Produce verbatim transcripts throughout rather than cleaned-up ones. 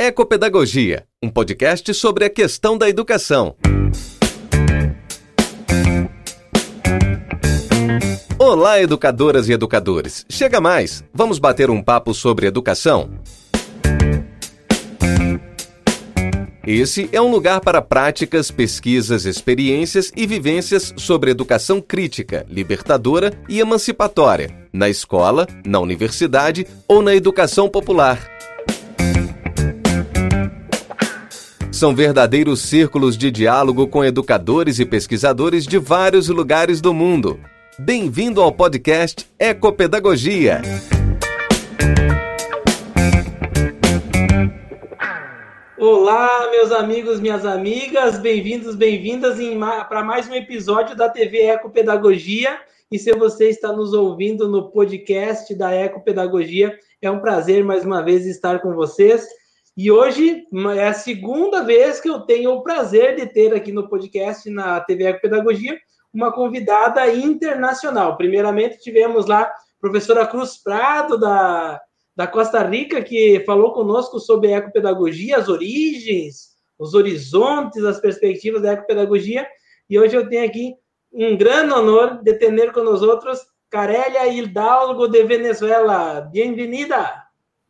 Ecopedagogia, um podcast sobre a questão da educação. Olá, educadoras e educadores. Chega mais, vamos bater um papo sobre educação? Esse é um lugar para práticas, pesquisas, experiências e vivências sobre educação crítica, libertadora e emancipatória, na escola, na universidade ou na educação popular. São verdadeiros círculos de diálogo com educadores e pesquisadores de vários lugares do mundo. Bem-vindo ao podcast Ecopedagogia. Olá, meus amigos, minhas amigas, bem-vindos, bem-vindas para mais um episódio da T V Ecopedagogia. E se você está nos ouvindo no podcast da Ecopedagogia, é um prazer mais uma vez estar com vocês. E hoje é a segunda vez que eu tenho o prazer de ter aqui no podcast, na T V Ecopedagogia, uma convidada internacional. Primeiramente, tivemos lá a professora Cruz Prado, da, da Costa Rica, que falou conosco sobre ecopedagogia, as origens, os horizontes, as perspectivas da ecopedagogia. E hoje eu tenho aqui um grande honor de ter com nós outros Carélia Hidalgo, de Venezuela. Bem-vinda!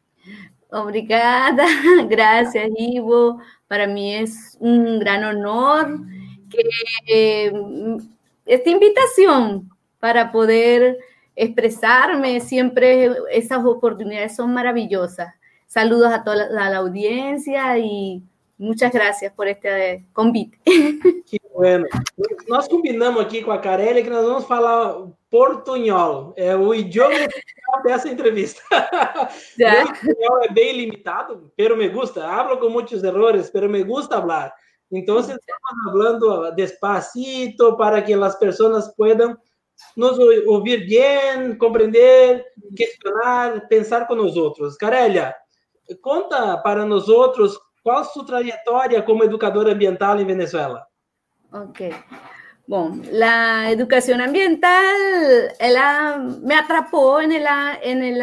Obrigada, gracias, Ivo. Para mí es un gran honor que eh, esta invitación para poder expresarme, siempre esas oportunidades son maravillosas. Saludos a toda la, a la audiencia y muchas gracias por este convite. Que bueno. Nós combinamos aqui com a Carélia que nós vamos falar portunhol, é o idioma dessa entrevista. Meu espanhol é bem limitado, pero me gusta. Hablo com muitos errores, pero me gusta hablar. Então, estamos falando despacito para que as pessoas possam nos ouvir bem, compreender, questionar, pensar com nós outros. Carélia, conta para nós outros qual a sua trajetória como educadora ambiental em Venezuela. Ok. Bueno, la educación ambiental ella, me atrapó en el, en el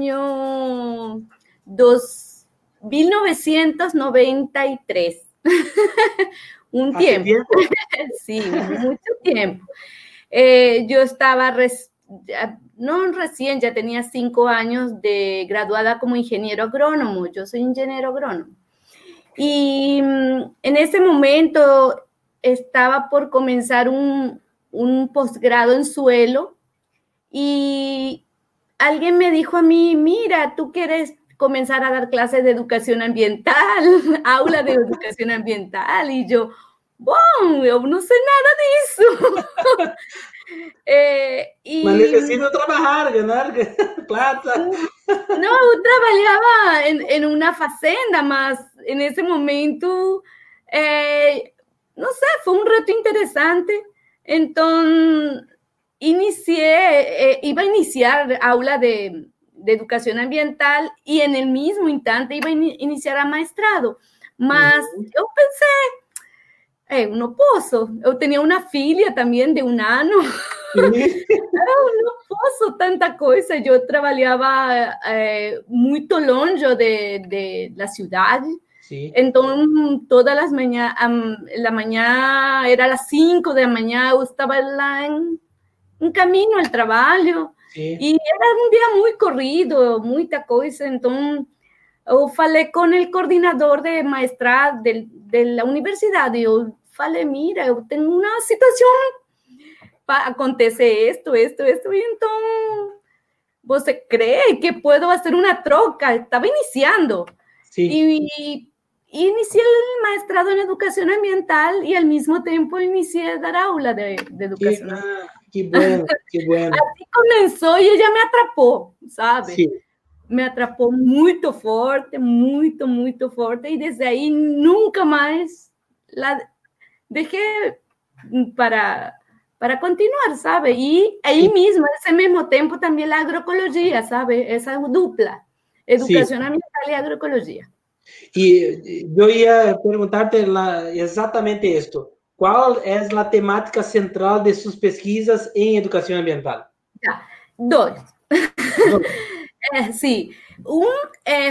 año dos, mil novecientos noventa y tres. Un tiempo. tiempo. Sí, mucho tiempo. Eh, yo estaba, res, no recién, ya tenía cinco años de graduada como ingeniero agrónomo. Yo soy ingeniero agrónomo. Y en ese momento estaba por comenzar un, un posgrado en suelo y alguien me dijo a mí, mira, tú quieres comenzar a dar clases de educación ambiental, aula de educación ambiental, y yo, bom, yo no sé nada de eso. eh, y, Mas necesito trabajar, ganar plata. No, yo trabajaba en, en una fazenda, más en ese momento... Eh, no sé, fue un reto interesante. Entonces, inicié, eh, iba a iniciar aula de, de educación ambiental y en el mismo instante iba a in, iniciar a maestrado. Mas uhum. eu pensei, eu não posso. Eu tinha uma filha também de um ano. Uhum. Eu não posso tanta coisa. Eu trabalhava eh, muito longe de, de da cidade. Sí. Entonces, todas las mañanas, um, la mañana era a las cinco de la mañana, yo estaba en, en camino al trabajo. Sí. Y era un día muy corrido, mucha cosa. Entonces, yo falei con el coordinador de maestrado de, de la universidad. Y yo falei, mira, yo tengo una situación, acontece esto, esto, esto. Y entonces, ¿você cree que puedo hacer una troca? Estaba iniciando. Sí. Y, y inicié el maestrado en educación ambiental y al mismo tiempo inicié a dar aula de, de educación. Qué, qué bueno, qué bueno. Así comenzó y ella me atrapó, ¿sabe? Sí. Me atrapó muy fuerte, muy, muy fuerte y desde ahí nunca más la dejé para, para continuar, ¿sabe? Y ahí sí. mismo, ese mismo tiempo también la agroecología, ¿sabe? Esa dupla, educación sí. ambiental y agroecología. Y yo iba a preguntarte la, exactamente esto. ¿Cuál es la temática central de sus pesquisas en educación ambiental? Ya, dos. dos. eh, sí, un, eh,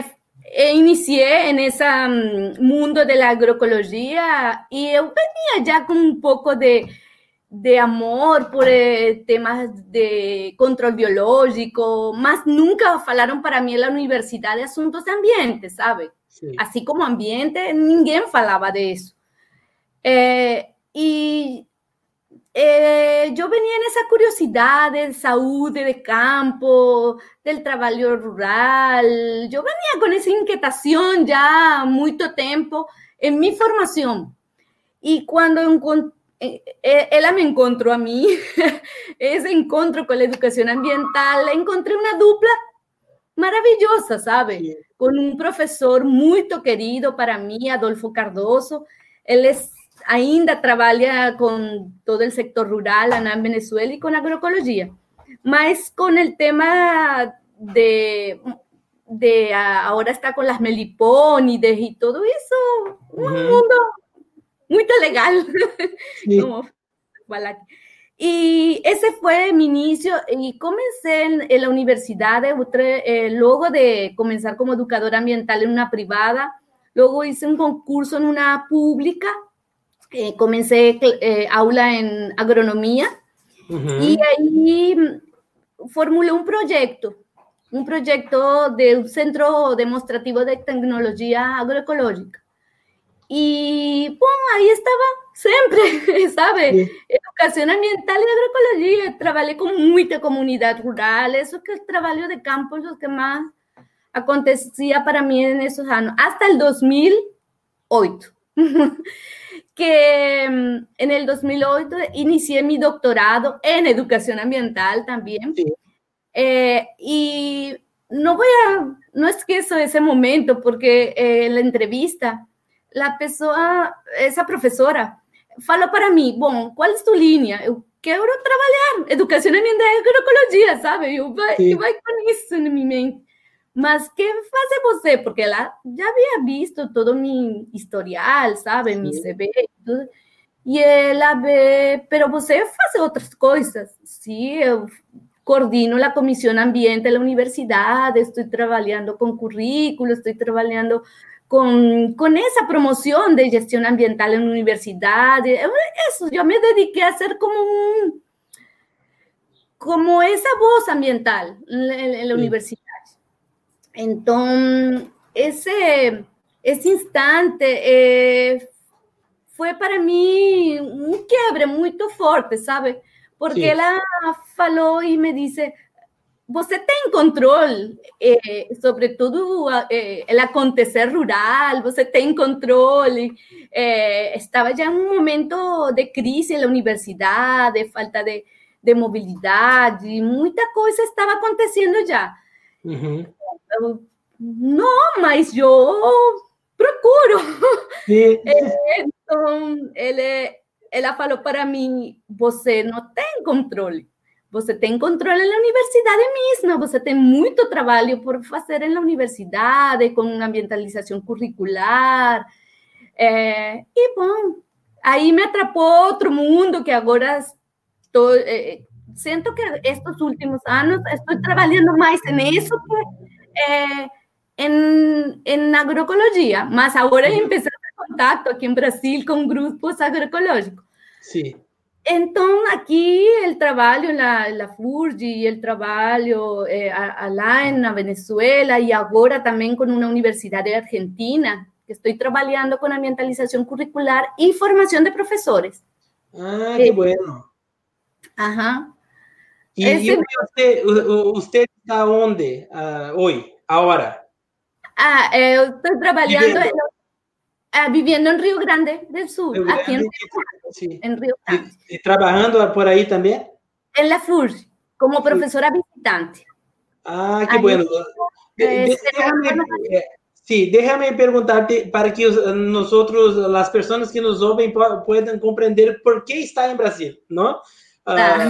inicié en ese um, mundo de la agroecología y yo venía ya con un poco de, de amor por eh, temas de control biológico, más nunca falaron para mí en la universidad de asuntos de ambiente, ¿sabe? Sí. Así como ambiente, ninguém falaba de eso. Eh, y eh, yo venía en esa curiosidad de salud, de campo, del trabajo rural. Yo venía con esa inquietación ya mucho tiempo en mi formación. Y cuando encont- eh, ella me encontró a mí, ese encuentro con la educación ambiental, encontré una dupla maravillosa, ¿sabe? Sí. Con un profesor muy querido para mí, Adolfo Cardoso. Él es ainda trabalha com todo o sector rural lá na Venezuela e com agroecologia, mas com o tema de, de agora está com as melipônidas e tudo isso, um uhum. mundo muito legal. Como falar aqui. E esse foi meu início, e comecei na universidade, logo de começar como educadora ambiental em uma privada, logo hice um concurso em uma pública. Eh, comencé eh, aula en agronomía uh-huh. y ahí formulé un proyecto, un proyecto de un centro demostrativo de tecnología agroecológica. Y bueno, ahí estaba siempre, ¿sabe? Sí. Educación ambiental y agroecología. Trabajé con mucha comunidad rural, eso que el trabajo de campo es lo que más acontecía para mí en esos años, hasta el dos mil ocho. Que en el dos mil ocho inicié mi doctorado en educación ambiental también. Sí. Eh, y no voy a, no es que eso ese momento, porque eh, la entrevista, la persona, esa profesora, faló para mí, bueno, ¿cuál es tu línea? Eu quero trabalhar educación ambiental y agroecologia, ¿sabe? Eu vai, sí. eu vai com isso en mi mente. Mas que faz você? Porque ela já havia visto todo mi historial, sabe? Sí. Mi C V e tudo. E ela vê, pero você faz outras coisas. Sim, eu coordino a comissão ambiente da universidade, estou trabalhando com currículo, estou trabalhando com, com essa promoção de gestão ambiental na universidade. Isso, eu me dediquei a ser como um, como essa voz ambiental na universidade. Entonces, ese, ese instante eh, fue para mí un quiebre muy fuerte, ¿sabe? Porque sí. Ella faló y me dice, você tem control eh, sobre todo eh, el acontecer rural, você tem control. Eh, estaba ya en un momento de crisis en la universidad, de falta de, de movilidad, y mucha cosa estaba aconteciendo ya. Uh-huh. Não, mas eu procuro. Sim. Então, ele, ela falou para mim, você não tem controle. Você tem controle na universidade mesma. Você tem muito trabalho por fazer na universidade, com ambientalização curricular. É, e, bom, aí me atrapou outro mundo que agora estou... É, siento que estos últimos años estoy trabajando más en eso que eh, en, en agroecología, más ahora sí. Empecé a hacer contacto aquí en Brasil con grupos agroecológicos. Sí. Entonces, aquí el trabajo en la, la Furgi, el trabajo eh, allá en Venezuela y ahora también con una universidad de Argentina, que estoy trabajando con ambientalización curricular y formación de profesores. Ah, qué eh, bueno. Ajá. ¿Y, Ese... y usted, usted está dónde uh, hoy, ahora? Ah, eh, estoy trabajando, viviendo. En, uh, viviendo en Río Grande del Sur, Río aquí Grande, en, sí. en Río Grande. ¿Y, y trabajando por ahí también? En la F U R, como profesora sí. visitante. Ah, qué ahí, bueno. De, de, déjame, eh, sí, déjame preguntarte para que nosotros, las personas que nos oyen, puedan comprender por qué está en Brasil, ¿no? Ah. Uh,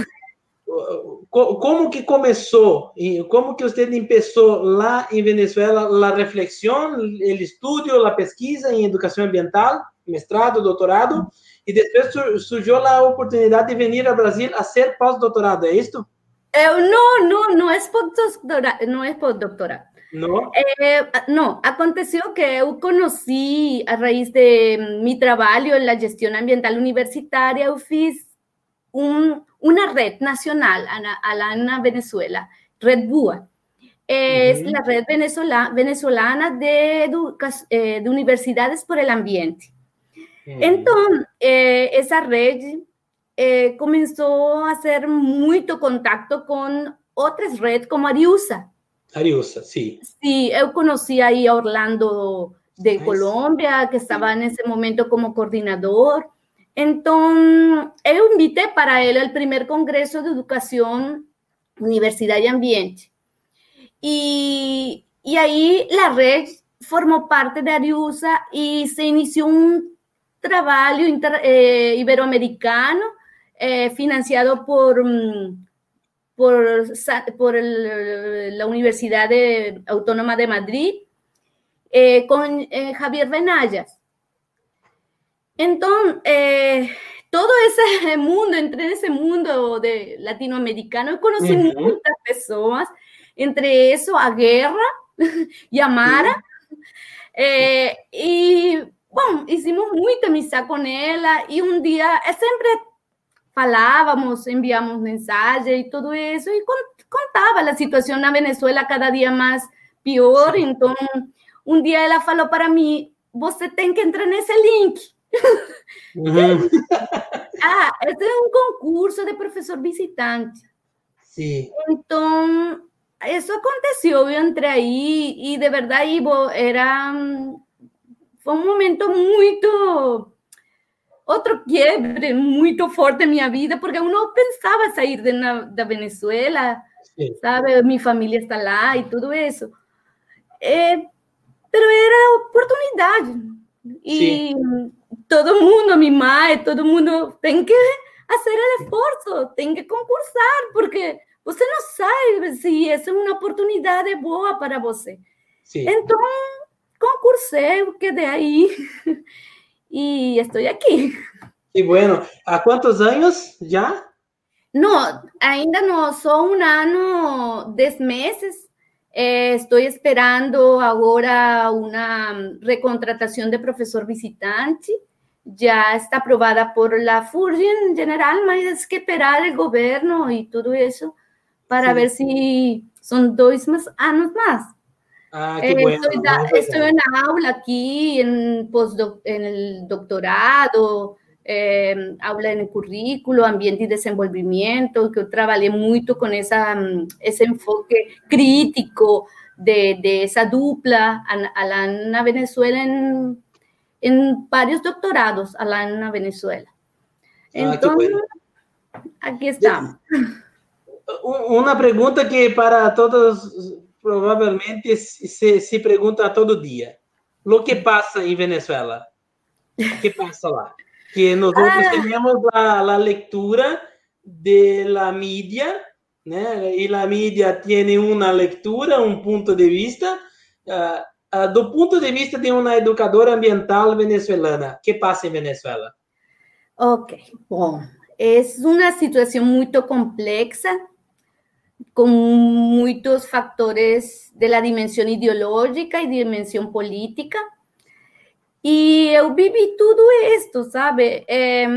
¿Cómo que comenzó? ¿Cómo que usted empezó lá en Venezuela la reflexión, el estudio, la pesquisa en educación ambiental, mestrado, doctorado, y después surgió la oportunidad de venir a Brasil a hacer postdoctorado? ¿Es esto? Eh, no, no, no es postdoctorado, no es postdoctorado. Não? Eh, no, aconteció que eu conheci, a raíz de mi trabajo en la gestión ambiental universitaria, eu fiz un, una red nacional allá en Venezuela, Red BUA. Es Uhum. la red venezolana, venezolana de, educa- eh, de universidades por el ambiente. Uhum. Entonces, eh, esa red eh, comenzó a hacer mucho contacto con otras redes como Ariusa. Ariusa, sim. Sí, eu conocí ahí a Orlando de Ai, Colombia, que estaba en ese momento como coordinador. Entonces, eu invité para él al primer Congreso de Educación, Universidad y Ambiente. Y, y ahí la red formó parte de Ariusa y se inició un trabajo inter, eh, iberoamericano eh, financiado por... Um, por, por el, la Universidad de, Autónoma de Madrid, eh, con eh, Javier Benayas. Entonces, eh, todo ese mundo, entré en ese mundo de latinoamericano, conocí uh-huh. muchas personas, entre eso a Guerra y a Mara, uh-huh. eh, y bueno, hicimos mucha amistad con ella, y un día, siempre falávamos, enviamos mensajes y todo eso, y contaba la situación en Venezuela cada día más peor. Sí. Entonces, un día ella falou para mí, você tem que entrar nesse link. Uhum. Ah, este é um concurso de professor visitante. Sim. Então, isso aconteceu, eu entrei aí, e de verdade, Ivo, era... Foi um momento muito... Outro quiebre muito forte em minha vida, porque eu não pensava sair de na, da Venezuela, sí. sabe? Minha família está lá e tudo isso. É, pero era oportunidade. E sí. todo mundo, minha mãe, todo mundo tem que fazer o esforço, tem que concursar, porque você não sabe se essa é uma oportunidade boa para você. Sí. Então, concursei, quedei aí. Y estoy aquí. Y bueno, ¿a cuántos años ya? No, ainda no, son un año, diez meses. Eh, estoy esperando ahora una recontratación de profesor visitante. Ya está aprobada por la FURGI en general, mas es que esperar el gobierno y todo eso para sí. ver si son dos más años más. Ah, qué bueno. Estoy, da, estoy en la aula aquí, en, postdoc, en el doctorado, eh, aula en el currículo, ambiente y desenvolvimiento, que yo trabajé mucho con esa, ese enfoque crítico de, de esa dupla a, a la, en la Venezuela, en, en varios doctorados a la en la Venezuela. Entonces, ah, bueno. Aquí estamos. Una pregunta que para todos... Provavelmente se, se pergunta todo dia. O que passa em Venezuela? O que passa lá? Que nós ah. temos a, a leitura da mídia, né? E a mídia tem uma leitura, um ponto de vista. Uh, uh, do ponto de vista de uma educadora ambiental venezuelana, o que passa em Venezuela? Ok, bom. É uma situação muito complexa, con muchos factores de la dimensión ideológica y dimensión política. Y yo viví todo esto, ¿sabe? Eh,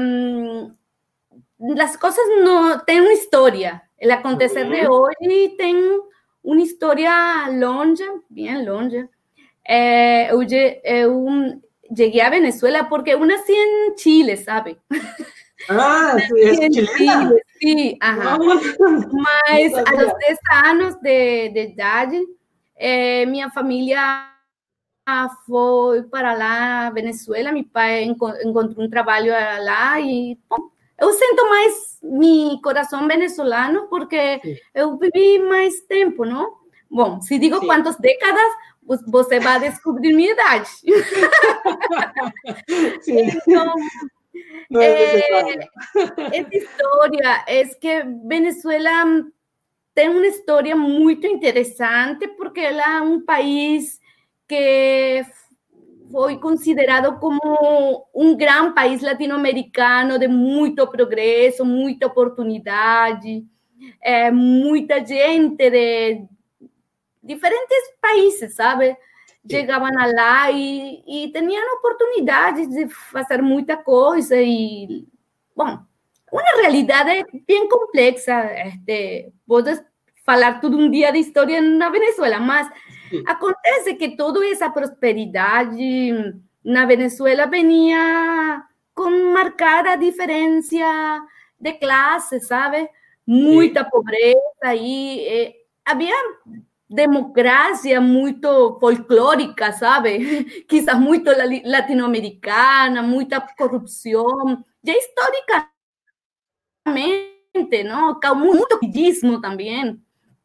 las cosas no tienen una historia. El acontecer uh-huh. de hoy tiene una historia longa, bien longa. Eh, yo, yo llegué a Venezuela porque yo nací en Chile, ¿sabe? Ah, es chilena. Chile, sí, ajá. Mas a los diez años de, de edad, eh, mi familia fue para lá, Venezuela. Mi pai encontró un trabajo lá y bom, eu siento más mi corazón venezolano porque sí. eu viví más tiempo, ¿no? Bom, si digo sí. cuántas décadas, pues você va a descubrir mi edad. Sí. Entonces, no es eh, esta historia es que Venezuela tiene una historia muy interesante porque es un país que fue considerado como un gran país latinoamericano de mucho progreso, mucha oportunidad, eh, mucha gente de diferentes países, sabe? Chegavam lá e, e tinham oportunidades de fazer muita coisa e, bom, uma realidade bem complexa. Este, podes falar todo um dia de história na Venezuela, mas sim, acontece que toda essa prosperidade na Venezuela venia com marcada diferença de classe, sabe? Muita sim, pobreza e eh, havia democracia muito folclórica, sabe? Quizás muito latino-americana, muita corrupção, e históricamente, ¿no? Mucho capitalismo también.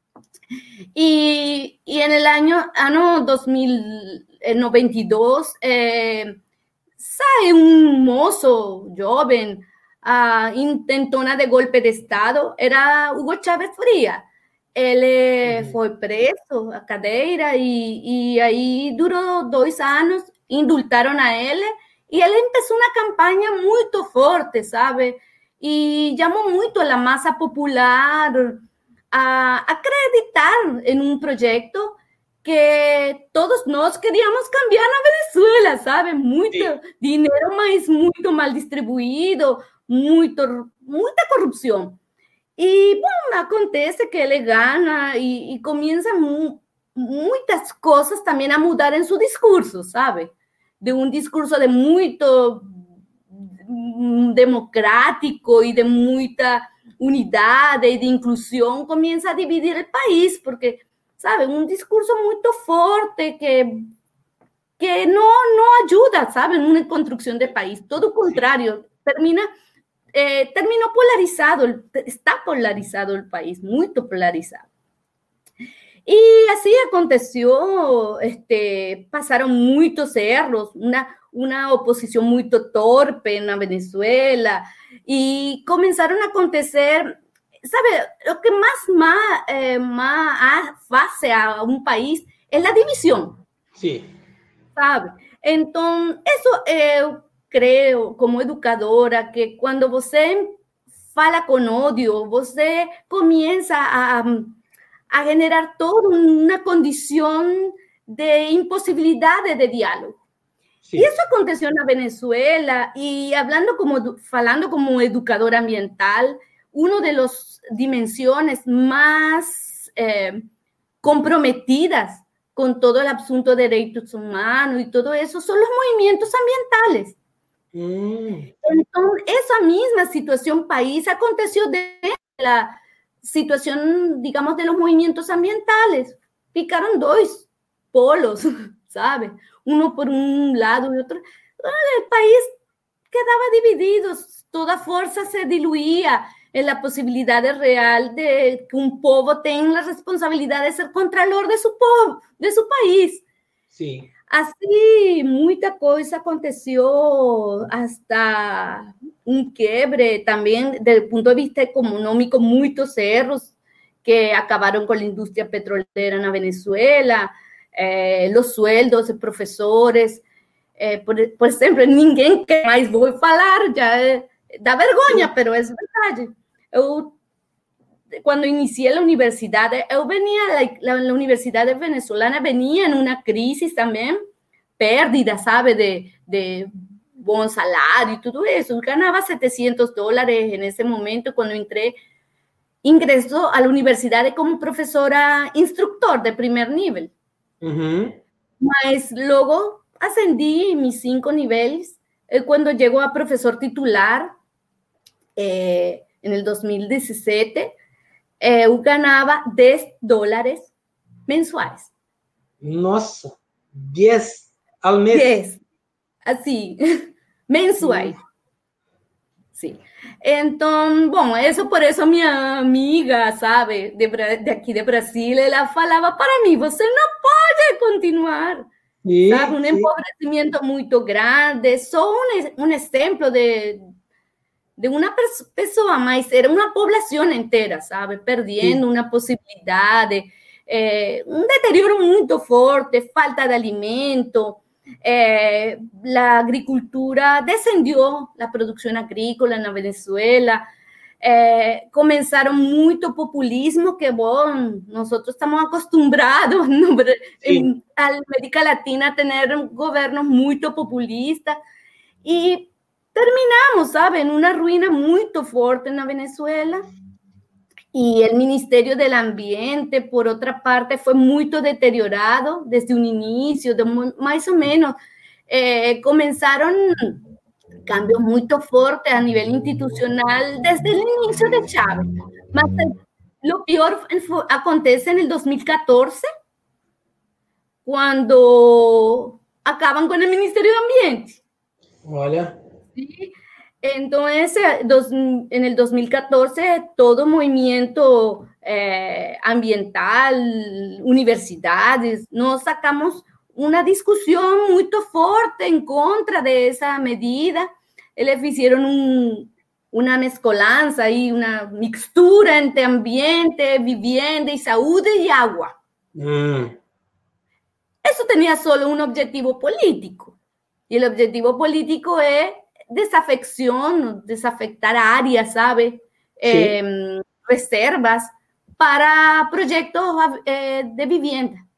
Y, y en el año, año dos mil noventa y dos, eh, sale un mozo joven, uh, intentona de golpe de Estado, era Hugo Chávez Frías. Ele uhum. foi preso à cadeira e, e aí durou dois anos, indultaram a ele e ele começou uma campanha muito forte, sabe? E chamou muito a massa popular a acreditar em um projeto que todos nós queríamos cambiar na Venezuela, sabe? Muito Sim. dinheiro, mas muito mal distribuído, muito, muita corrupção. E, bom, acontece que ele ganha e, e começa mu muitas coisas também a mudar em seu discurso, sabe? De um discurso de muito democrático e de muita unidade e de inclusão, começa a dividir o país, porque, sabe, um discurso muito forte que, que não, não ajuda, sabe, numa construção de país. Todo o contrário, termina... Eh, terminó polarizado, está polarizado el país, muy polarizado. Y así aconteció, este, pasaron muchos errores, una, una oposición muy torpe en la Venezuela, y comenzaron a acontecer, ¿sabe? Lo que más, más, eh, más hace a un país es la división. Sí. ¿Sabe? Entonces, eso... Eh, creo, como educadora, que quando você fala com ódio, você começa a, a generar toda uma condição de impossibilidade de diálogo. Sí. E isso aconteceu na Venezuela, e hablando como, falando como educadora ambiental, uma das dimensões mais eh, comprometidas com todo o assunto de direitos humanos e todo isso são os movimentos ambientales. Mm. Entonces, esa misma situación país aconteció de la situación, digamos, de los movimientos ambientales. Picaron dos polos, ¿sabe? Uno por un lado y otro. El país quedaba dividido, toda fuerza se diluía en la posibilidad real de que un pueblo tenga la responsabilidad de ser contralor de su pueblo, de su país. Sí. Assim, muita coisa aconteceu, hasta um quebre também, do ponto de vista econômico, muitos erros que acabaram com a indústria petrolera na Venezuela, eh, os sueldos de professores, eh, por, por exemplo, ninguém quer mais, vou falar, já é, dá vergonha, mas é verdade. Eu, quando iniciei a universidade, eu venia, a, a universidade venezolana venia em uma crise também, pérdida, sabe, de, de bom salário e tudo isso. Eu ganhava setecentos dólares nesse momento, quando entrei, ingressou à universidade como professora instructor de primeiro nível. Uhum. Mas logo ascendi mis cinco níveis, e quando chegou a professor titular, eh, em el dois mil e dezessete, Eh, eu ganhava dez dólares mensuais. Nossa, dez ao mês? dez, assim, mensuais. Hum. Sim. Então, bom, isso por isso minha amiga, sabe, de, de aqui de Brasil, ela falava para mim, você não pode continuar. Sim, sabe, um sim. empobrecimento muito grande, só um, um exemplo de... de uma pessoa, mas era uma população inteira, sabe? Perdendo Sim. uma possibilidade, eh, um deterioro muito forte, falta de alimento, eh, a agricultura descendeu, a produção agrícola na Venezuela, Eh, comenzaron mucho populismo, que bueno, nosotros estamos acostumbrados, ¿no? Sí. En América Latina a tener gobiernos muy populistas, y terminamos, ¿sabe? En una ruina muy fuerte en la Venezuela. Y el Ministerio del Ambiente, por otra parte, fue muy deteriorado desde un inicio, de muy, más o menos. Eh, comenzaron cambios muy fuertes a nivel institucional desde el inicio de Chávez. Mas lo peor fue, acontece en el dos mil catorce, cuando acaban con el Ministerio de Ambiente. Olha. ¿Sí? Entonces, dos, en el dos mil catorce, todo movimiento eh, ambiental, universidades, nos sacamos una discusión muy fuerte en contra de esa medida. Les hicieron un, una mezcolanza y una mixtura entre ambiente, vivienda y salud y agua. Mm. Eso tenía solo un objetivo político. Y el objetivo político es desafección, desafectar áreas, ¿sabe? Sí. Eh, reservas para proyectos eh, de vivienda.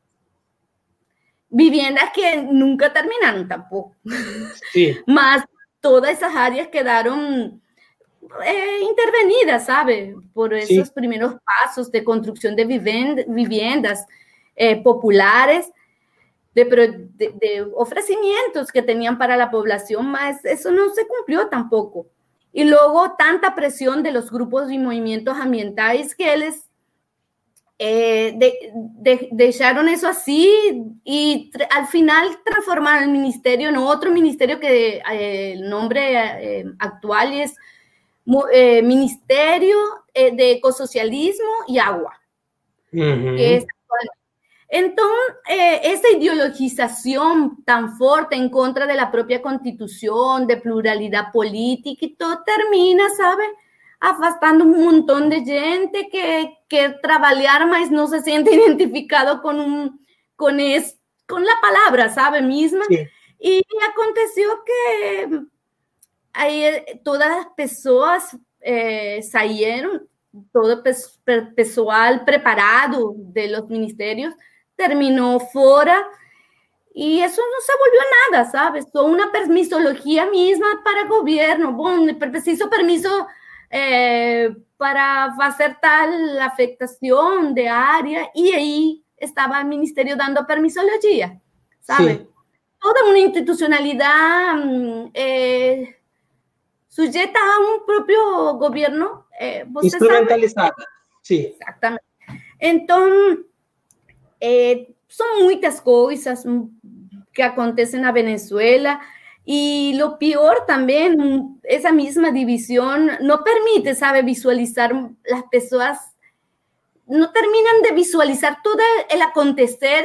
Viviendas que nunca terminaron tampoco. Sí. Más todas esas áreas quedaron eh, intervenidas, ¿sabe? Por esos Sí. primeros pasos de construcción de vivienda, viviendas eh, populares, De, de, de ofrecimientos que tenían para la población, más eso no se cumplió tampoco. Y luego tanta presión de los grupos y movimientos ambientales que les eh, de, de, dejaron eso así, y al final transformaron el ministerio en otro ministerio que eh, el nombre eh, actual es eh, Ministerio eh, de Ecosocialismo y Agua, Uh-huh. que es Entonces, eh, esa ideologización tan fuerte en contra de la propia constitución, de pluralidad política y todo, termina, ¿sabe? Afastando un montón de gente que, que trabajar más no se siente identificado con, un, con, es, con la palabra, ¿sabe? Misma. Sí. Y aconteció que ahí todas las personas eh, salieron, todo el pessoal preparado de los ministerios terminó fuera, y eso no se volvió nada, ¿sabes? Fue una permisología misma para el gobierno. Bueno, preciso permiso eh, para hacer tal afectación de área, y ahí estaba el ministerio dando permisología, ¿sabes? Sí. Toda una institucionalidad eh, sujeta a un propio gobierno. Eh, Instrumentalizada, sí. Exactamente. Entonces, eh, son muchas cosas que acontecen en Venezuela, y lo peor también, esa misma división no permite, ¿sabe? Visualizar, las personas no terminan de visualizar todo el acontecer,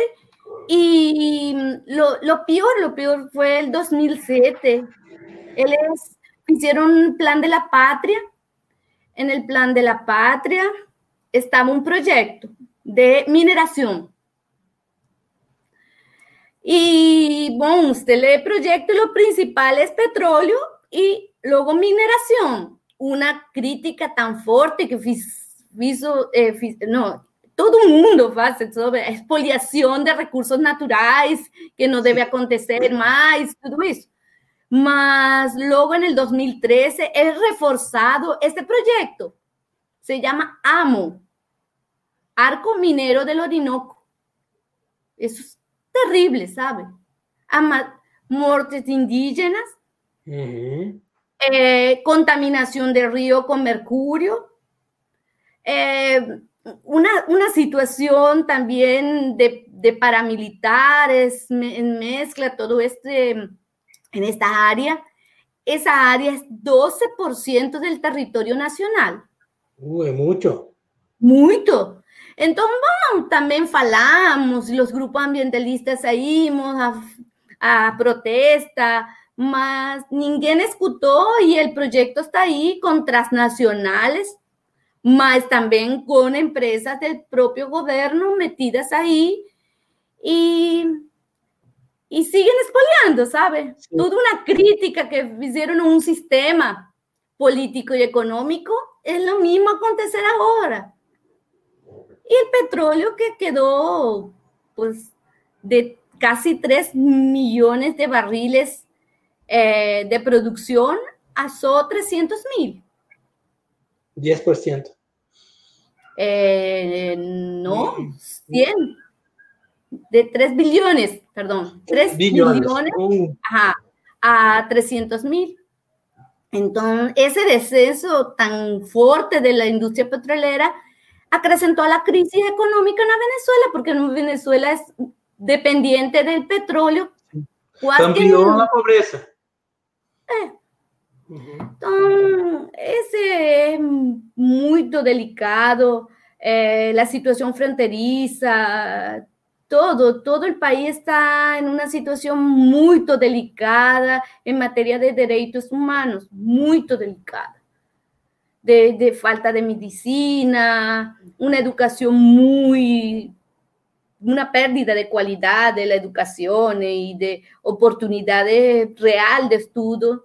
y lo, lo peor, lo peor fue el dos mil siete. Ellos hicieron un plan de la patria. En el plan de la patria estaba un proyecto de mineración. Y, bueno, usted lee el proyecto y lo principal es petróleo y luego mineración. Una crítica tan fuerte que hizo, eh, no, todo el mundo hace sobre expoliación de recursos naturales, que no debe acontecer más, todo eso. Mas luego en el dos mil trece es reforzado este proyecto. Se llama AMO, Arco Minero del Orinoco. Eso es terrible, ¿sabe? Ama, muertes indígenas, uh-huh. eh, contaminación del río con mercurio, eh, una, una situación también de, de paramilitares, me, mezcla todo este, en esta área. Esa área es doce por ciento del territorio nacional. Uh, es mucho. Mucho. Entonces, bueno, también falamos, los grupos ambientalistas saímos a, a protesta, mas ninguém escuchó, y el proyecto está ahí con transnacionales, mas también con empresas del propio gobierno metidas ahí, y, y siguen expoliando, ¿sabe? Sí. Toda una crítica que hicieron a un sistema político y económico es lo mismo acontecer ahora. Y el petróleo que quedó, pues, de casi tres millones de barriles eh, de producción, asó trescientos mil. diez por ciento. Eh, no, cien. De tres billones, perdón, tres billones, billones uh. ajá, a trescientos mil. Entonces, ese descenso tan fuerte de la industria petrolera acrecentó la crisis económica en la Venezuela, porque Venezuela es dependiente del petróleo. Amplió la pobreza. Eh. Uh-huh. Entonces, ese es muy delicado, eh, la situación fronteriza, todo, todo el país está en una situación muy delicada en materia de derechos humanos, muy delicada. De, de falta de medicina, una educación muy, una pérdida de calidad de la educación y de oportunidades real de estudio,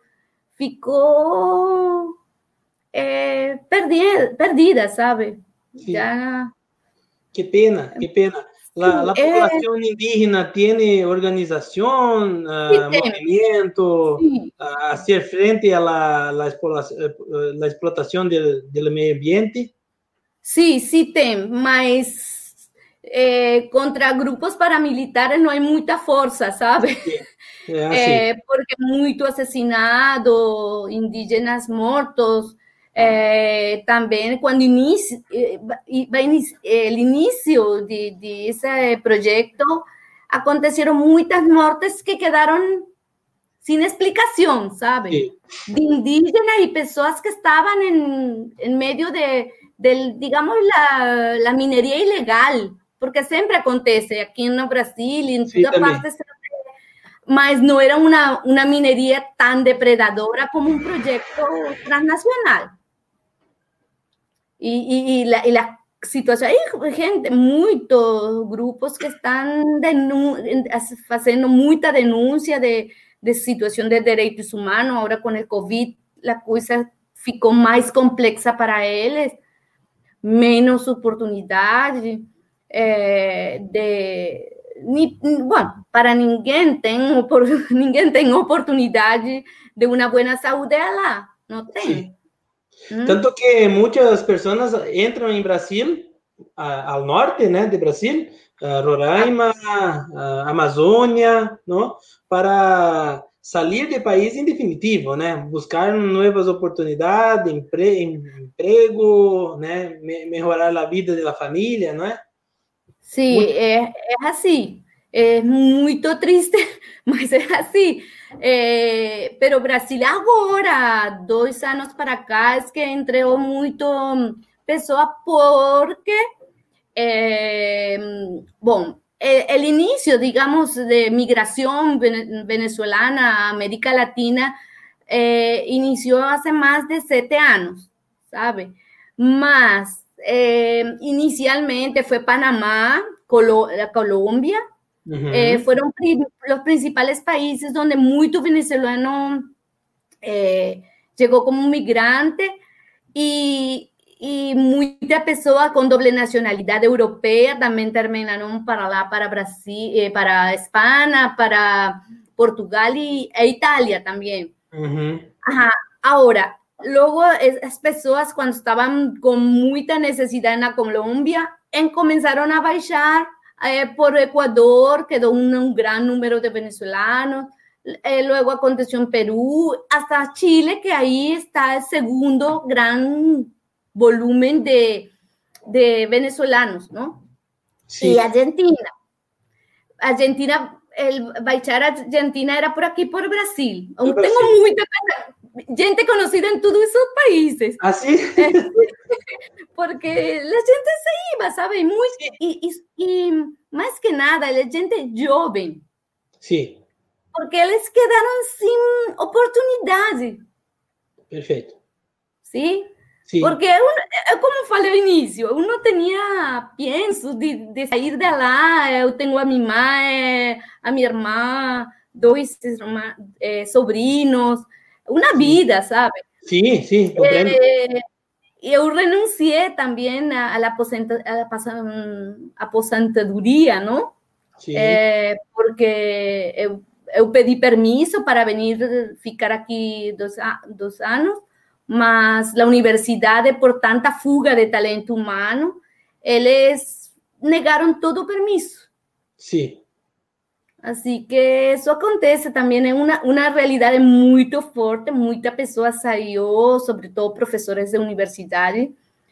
ficó eh, perdida, perdida, ¿sabe? Sí. Ya. Qué pena, qué pena. La, la población eh, indígena tiene organización, uh, sí, movimiento, sí. uh, hacer frente a la, la, explotación, la explotación del, del medio ambiente. Sí, sí tem, mas eh, contra grupos paramilitares no hay mucha fuerza, ¿sabe? Sí. É assim. eh, porque muito assassinado, indígenas mortos. Eh, também, quando inicio, eh, o início de, de esse projeto, aconteceram muitas mortes que quedaram sem explicação, sabe? Sí. De indígenas e pessoas que estavam em, em meio de, de digamos, la, la mineria ilegal, porque sempre acontece aqui no Brasil e em sí, toda parte, mas não era uma, uma mineria tão depredadora como um projeto transnacional. Y, y, y, la, y la situación, hay gente, muchos grupos que están denun haciendo mucha denuncia de, de situación de derechos humanos. Ahora con el COVID la cosa ficou más compleja para ellos, menos oportunidades, eh, de, ni, bueno, para ninguém tem, ninguém tem oportunidade de una buena salud lá, no tem. Sí. Tanto que muchas personas entran en Brasil, a, al norte, ¿no? de Brasil, a Roraima, a Amazônia, ¿no? Para salir del país en definitivo, ¿no? Buscar nuevas oportunidades, empre, emprego, ¿no? Me, mejorar la vida de la familia, ¿no? Sí, muy... es, es así. Es muy triste, mas es así. Eh, pero Brasil agora, dois anos para cá, es que entregou muito pessoa porque, eh, bom, el, el inicio, digamos, de migración venezolana a América Latina eh, inició hace más de siete años, ¿sabe? Mas, eh, inicialmente fue Panamá, Colo Colombia, Uh-huh. eh, fueron pri los principales países donde mucho venezolano eh, llegó como migrante y, y muchas personas con doble nacionalidad europea también terminaron para lá, para Brasil, eh, para España, para Portugal y, e Italia también. Uh-huh. Ajá. Ahora, luego esas personas cuando estaban con mucha necesidad en la Colombia, en, comenzaron a bajar Eh, por Ecuador, quedó un, un gran número de venezolanos, eh, luego aconteció en Perú, hasta Chile, que ahí está el segundo gran volumen de, de venezolanos, ¿no? Sí. Y Argentina. Argentina, el baixar a Argentina era por aquí, por Brasil. Aún por tengo Brasil. mucha gente conocida en todos esos países. ¿Ah, sí? Porque la gente se iba, ¿sabe? Muy, y, y, y más que nada, la gente joven. Sí. Porque eles quedaron sin oportunidade. Perfeito. ¿Sí? Sí. Porque, uno, como falei ao início, eu não tinha penso de, de sair de lá. Eu tenho a minha mãe, a minha irmã, dois eh, sobrinos, uma vida, sabe? Sí, sí, comprendo. Eh, eu renunciei também à aposenta, aposentadoria, não? É, porque eu, eu pedi permisso para vir ficar aqui dois, dois anos, mas a universidade, por tanta fuga de talento humano, eles negaram todo o permisso. Sim. Assim que isso acontece também, é uma, uma realidade muito forte, muita pessoa saiu, sobretudo professores de universidade,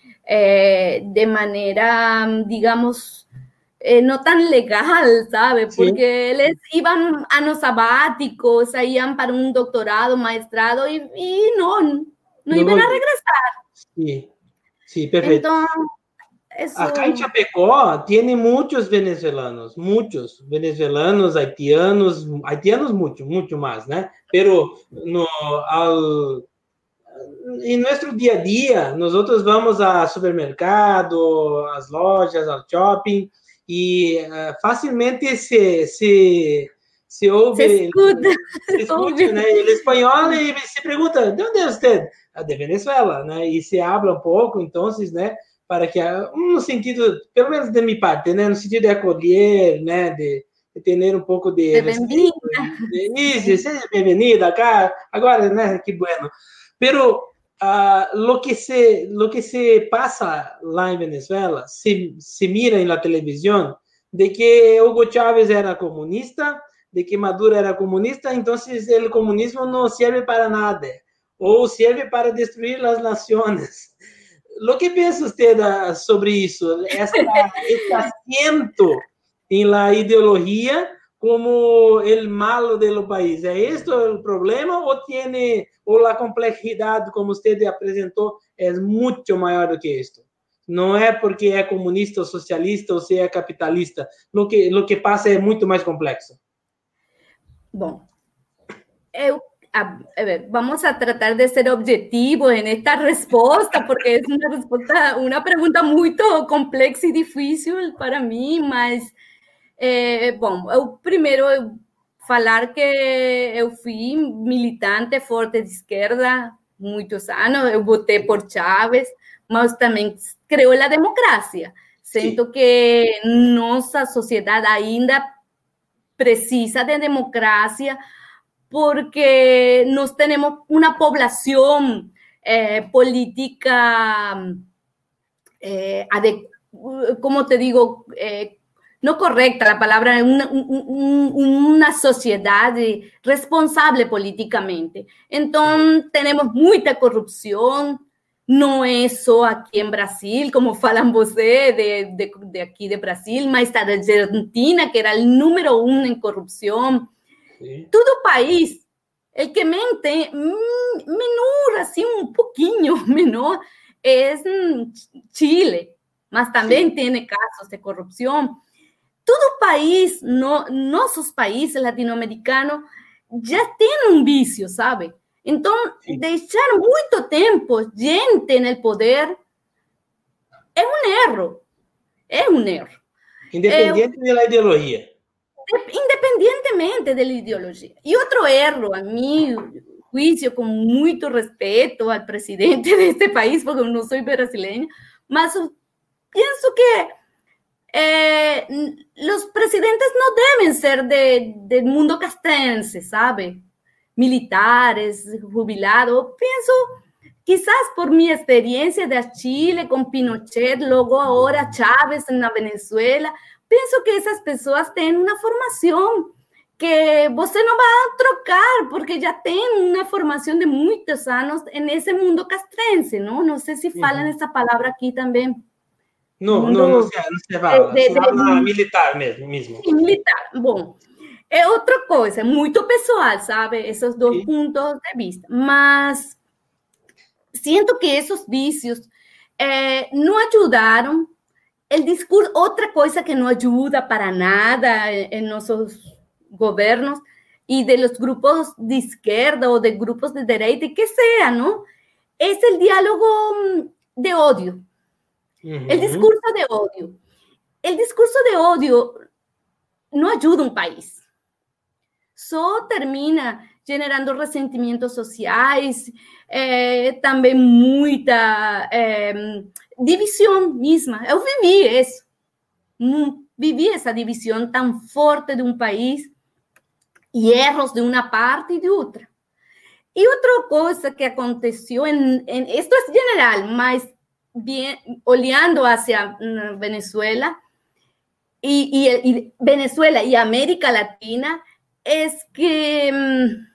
eh, de maneira, digamos, eh, não tão legal, sabe? Sim. Porque eles iam anos sabáticos, iam para um doutorado, mestrado, e, e não, não, não iam a regressar. Sim, sim, perfeito. Então, eso... Acá en Chapecó tiene muchos venezolanos, muchos venezolanos, haitianos, haitianos mucho, mucho más, ¿no? Pero no, al, en nuestro día a día, nosotros vamos al supermercado, a las lojas, al shopping, y uh, fácilmente se, se, se ouve, se escuta, se escuta, né? El espanhol e se pergunta, ¿de onde é usted? De Venezuela, né? E se habla um pouco, então, né? Para que, no sentido, pelo menos de minha parte, né? No sentido de acolher, né? De, de ter um pouco de... de bem-vinda. Isso, seja bem-vinda acá. Agora, né? Que bueno. Pero uh, lo, que se, lo que se pasa lá em Venezuela, se, se mira em la televisión, de que Hugo Chávez era comunista, de que Maduro era comunista, então o comunismo não serve para nada, ou serve para destruir as nações. Lo que pensa usted sobre isso? Esta, este asiento em la ideologia como el malo do país. ¿É este o problema ou tiene, ou a complexidade, como usted apresentou, é muito maior do que isto? Não é porque é comunista ou socialista ou se é capitalista. Lo que, lo que passa é muito mais complexo. Bom, eu, a, a ver, vamos a tratar de ser objetivos en esta respuesta, porque es una respuesta, una pregunta muy complexa y difícil para mí, mas, eh, bom, eu primeiro eu falar que eu fui militante forte de esquerda muitos anos, eu votei por Chávez, mas também creo en la democracia. Siento que nossa sociedade ainda precisa de democracia porque nos tenemos una población eh, política, eh, como te digo, eh, no correcta la palabra, una, un, una sociedad responsable políticamente. Entonces, tenemos mucha corrupción. No es só aqui em Brasil, como falam você, de, de, de aqui de Brasil, mas da Argentina, que era o número um em corrupção. Sim. Todo o país, o que mente, menor, assim, um pouquinho menor, é Chile, mas também Sim. tem casos de corrupção. Todo o país, no, nossos países latino-americanos, já tem um vício, sabe? Então, Sim. deixar muito tempo gente no poder é um erro. É um erro. Independente é, da ideologia. Independentemente da ideologia. E outro erro, a mim, juízo com muito respeito ao presidente deste país, porque eu não sou brasileira, mas eu penso que eh, os presidentes não devem ser de, de mundo castrense, sabe? Militares, jubilados. Penso, quizás por mi experiencia de Chile con Pinochet, luego ahora Chávez en la Venezuela, pienso que esas personas tienen una formación que você no va a trocar, porque ya tienen una formación de muchos años en ese mundo castrense, ¿no? No sé si falan esa palabra aquí también. No, mundo, no, no se, no se fala, de, de, se habla de, militar mesmo. Sí, militar, bom. É outra coisa, muito pessoal, sabe? Esses dois Sim. pontos de vista. Mas sinto que esses vícios eh, não ajudaram. O discurso, outra coisa que não ajuda para nada em nossos governos e de los grupos de esquerda ou de grupos de direita, que seja, não? É o diálogo de ódio. Uhum. O discurso de ódio. O discurso de ódio não ajuda um país. Só termina generando ressentimentos sociais, é, também muita é, divisão mesma. Eu vivi isso, vivi essa divisão tão forte de um país e erros de uma parte e de outra. E outra coisa que aconteceu, em, em, isto é geral, mas bien, olhando hacia Venezuela, y, y, y Venezuela y América Latina, es que um,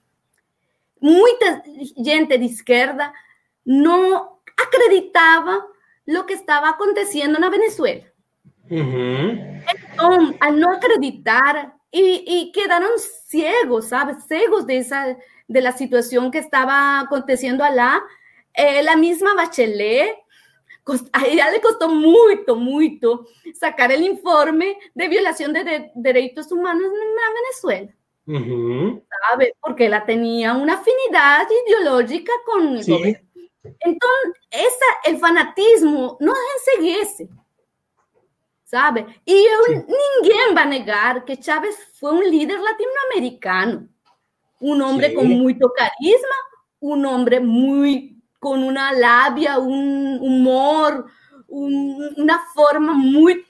mucha gente de izquierda no acreditaba lo que estaba aconteciendo en Venezuela. Uh-huh. Entonces, al no acreditar, y, y quedaron ciegos, ¿sabes? Ciegos de, esa, de la situación que estaba aconteciendo allá. Eh, la misma Bachelet, a ella le costó mucho, mucho sacar el informe de violación de, de derechos humanos en Venezuela. Uh-huh. ¿Sabe? Porque ella tenía una afinidad ideológica con el sí. gobierno. Entonces, esa, el fanatismo no enseguece, ¿sabe? Y sí. Ninguém va a negar que Chávez fue un líder latinoamericano, un hombre sí. con mucho carisma, un hombre muy... con una labia, un humor, un, una forma muy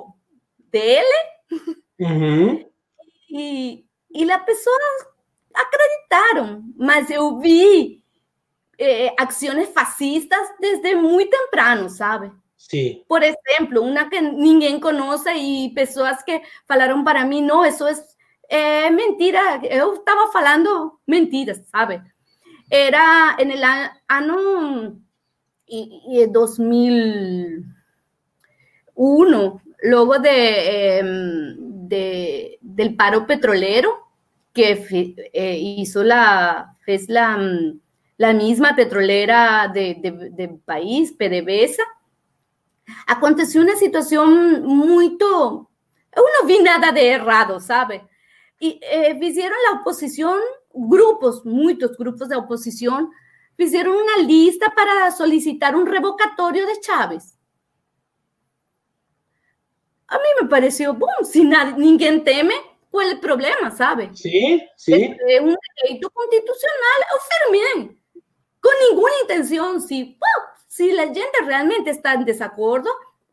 dele. Uh-huh. E, e as pessoas acreditaram, mas eu vi eh, ações fascistas desde muito temprano, sabe? Sim. Por exemplo, uma que ninguém conhece e pessoas que falaram para mim, não, isso é, é mentira, eu estava falando mentiras, sabe? Era en el año dos mil uno, luego de, de, del paro petrolero que eh, hizo la, es la, la misma petrolera de, de, del país, PDVSA, aconteció una situación muy, yo no vi nada de errado, ¿sabe? Y eh, hicieron la oposición, grupos, muchos grupos de oposición, hicieron una lista para solicitar un revocatorio de Chávez. A mí me pareció, boom, si nadie, ninguém teme, ¿cuál es el problema, sabe? Sí, sí. Es un derecho constitucional, yo firmé, con ninguna intención, si, boom, si la gente realmente está en desacuerdo,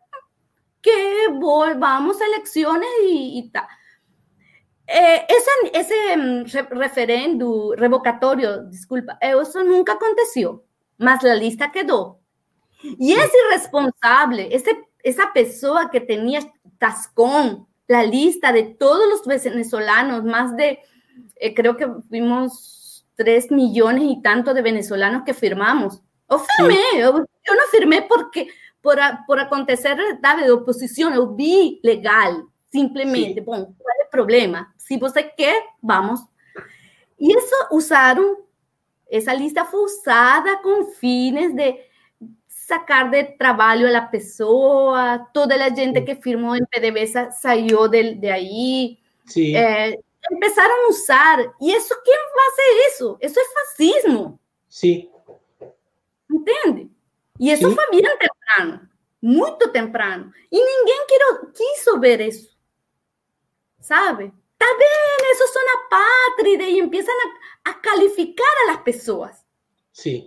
que volvamos a elecciones y, y tal. Eh, ese ese um, re referendo revocatorio, disculpa, eso nunca aconteció, mas la lista quedó. Y es irresponsable, ese, esa persona que tenía Tascón, la lista de todos los venezolanos, más de, eh, creo que fuimos tres millones y tanto de venezolanos que firmamos. Yo firmé, sí. yo, yo no firmé porque por, por acontecer de oposición, yo vi legal. Simplesmente, sí. Bom, qual é o problema? Se você quer, vamos. E isso usaram, essa lista foi usada com fines de sacar de trabalho a pessoa, toda a gente que firmou em PDVSA saiu de, de aí. Sí. É, começaram a usar. E isso, quem faz isso? Isso é fascismo. Sim. Entende? E isso sí. foi bem temprano, muito temprano. E ninguém quis, quis ver isso. ¿Sabe? Está bien, esos son apátridas y empiezan a, a calificar a las personas. Sí.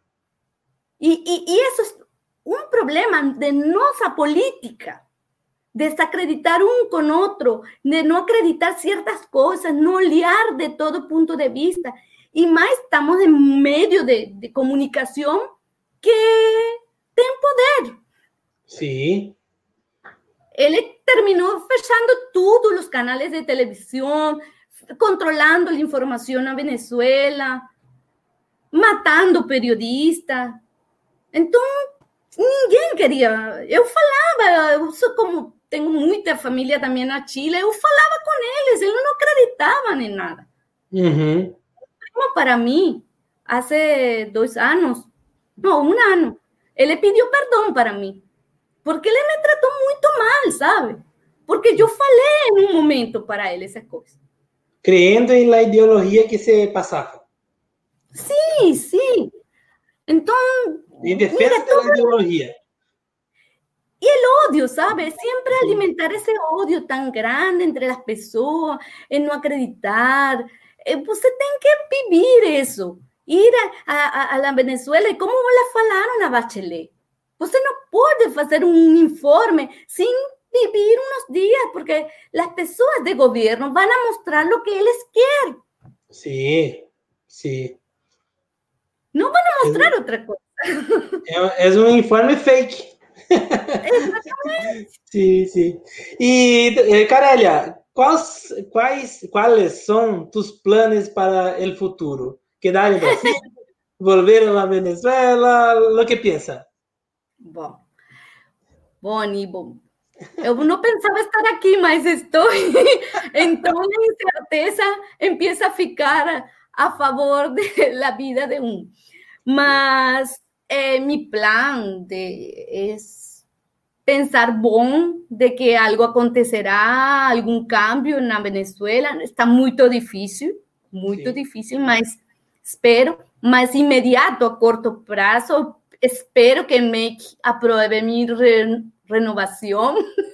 Y, y, y eso es un problema de nuestra política, de desacreditar un con otro, de no acreditar ciertas cosas, no liar de todo punto de vista. Y más estamos en medio de, de comunicación que tiene poder. Sí. Él terminó fechando todos los canales de televisión, controlando la información a Venezuela, matando periodistas. Entonces, ninguém queria. Eu falava, eu sou como tenho muita família também na Chile, eu falava com eles, eles não acreditavam em nada. Uhum. Como para mim, há dois anos, não, um ano, ele pediu perdão para mim. Porque ele me tratou muito mal, sabe? Porque eu falei em um momento para ele essas coisas. Creyendo em la ideologia que se passava. Sim, sim. Então... Em defesa da ideologia. E o ódio, sabe? Sempre alimentar esse ódio tão grande entre as pessoas, em não acreditar, eh, você tem que viver isso. Ir a, a, a la Venezuela, e como elas falaram na Bachelet, você não pode fazer um informe sem vivir uns dias, porque as pessoas de governo vão mostrar o que eles querem. Sim, sim. Não vão mostrar é, outra coisa. É, é um informe fake. Exatamente. Sim, sim. E, Carelia, quais, quais, quais são tus planos para o futuro? Quedar em Brasil? Volver a Venezuela? O que pensa? Bom, bom, Ivo, eu não pensava estar aqui, mas estou. Então, a incerteza empieza a ficar a favor da vida de um. Mas eh, mi plan de, es pensar bom de que algo acontecerá, algum cambio na Venezuela. Está muito difícil, muito Sim. difícil, mas espero, mas imediato, a curto prazo, espero que M E C aprove minha re, renovação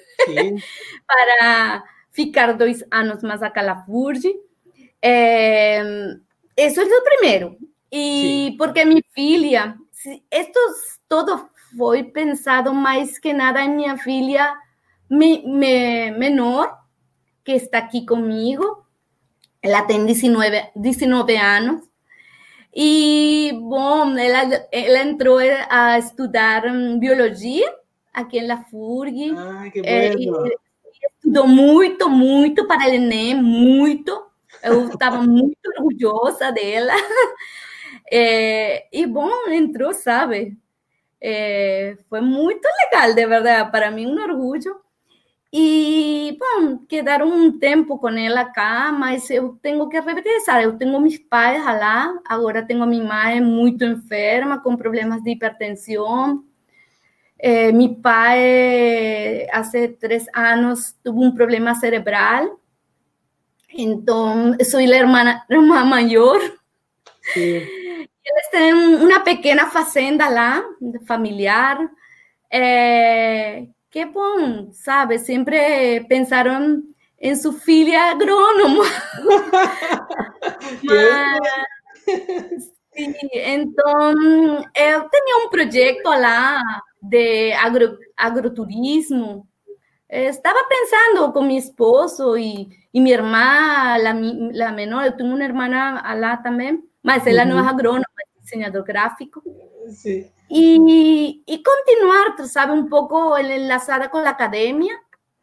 para ficar dois anos mais acá na FURG. Eh, isso é o primeiro. E Sim. porque minha filha, esto todo foi pensado mais que nada em minha filha me, me, menor, que está aqui comigo. Ela tem dezenove anos. E, bom, ela, ela entrou a estudar biologia aqui na FURG. Ah, que bueno. E, estudou muito, muito para o Enem, muito. Eu estava muito orgulhosa dela. É, e, bom, entrou, sabe? É, foi muito legal, de verdade. Para mim, um orgulho. E, bom, quedaram um tempo com ela cá, mas eu tenho que regressar. Eu tenho meus pais lá, agora tenho minha mãe muito enferma, com problemas de hipertensão. É, meu pai, há três anos, teve um problema cerebral. Então, sou a irmã, irmã maior. Sim. Eles têm uma pequena fazenda lá, familiar. É, que bom, sabe? Sempre pensaram em sua filha agrônoma. Mas, sim, então, eu tinha um projeto lá de agro, agroturismo. Estava pensando com meu esposo e, e minha irmã, a menor, eu tenho uma irmã lá também, mas ela uhum. não é agrônoma, é desenhador gráfico. Sim. E, e continuar, sabe, um pouco enlaçada com a academia,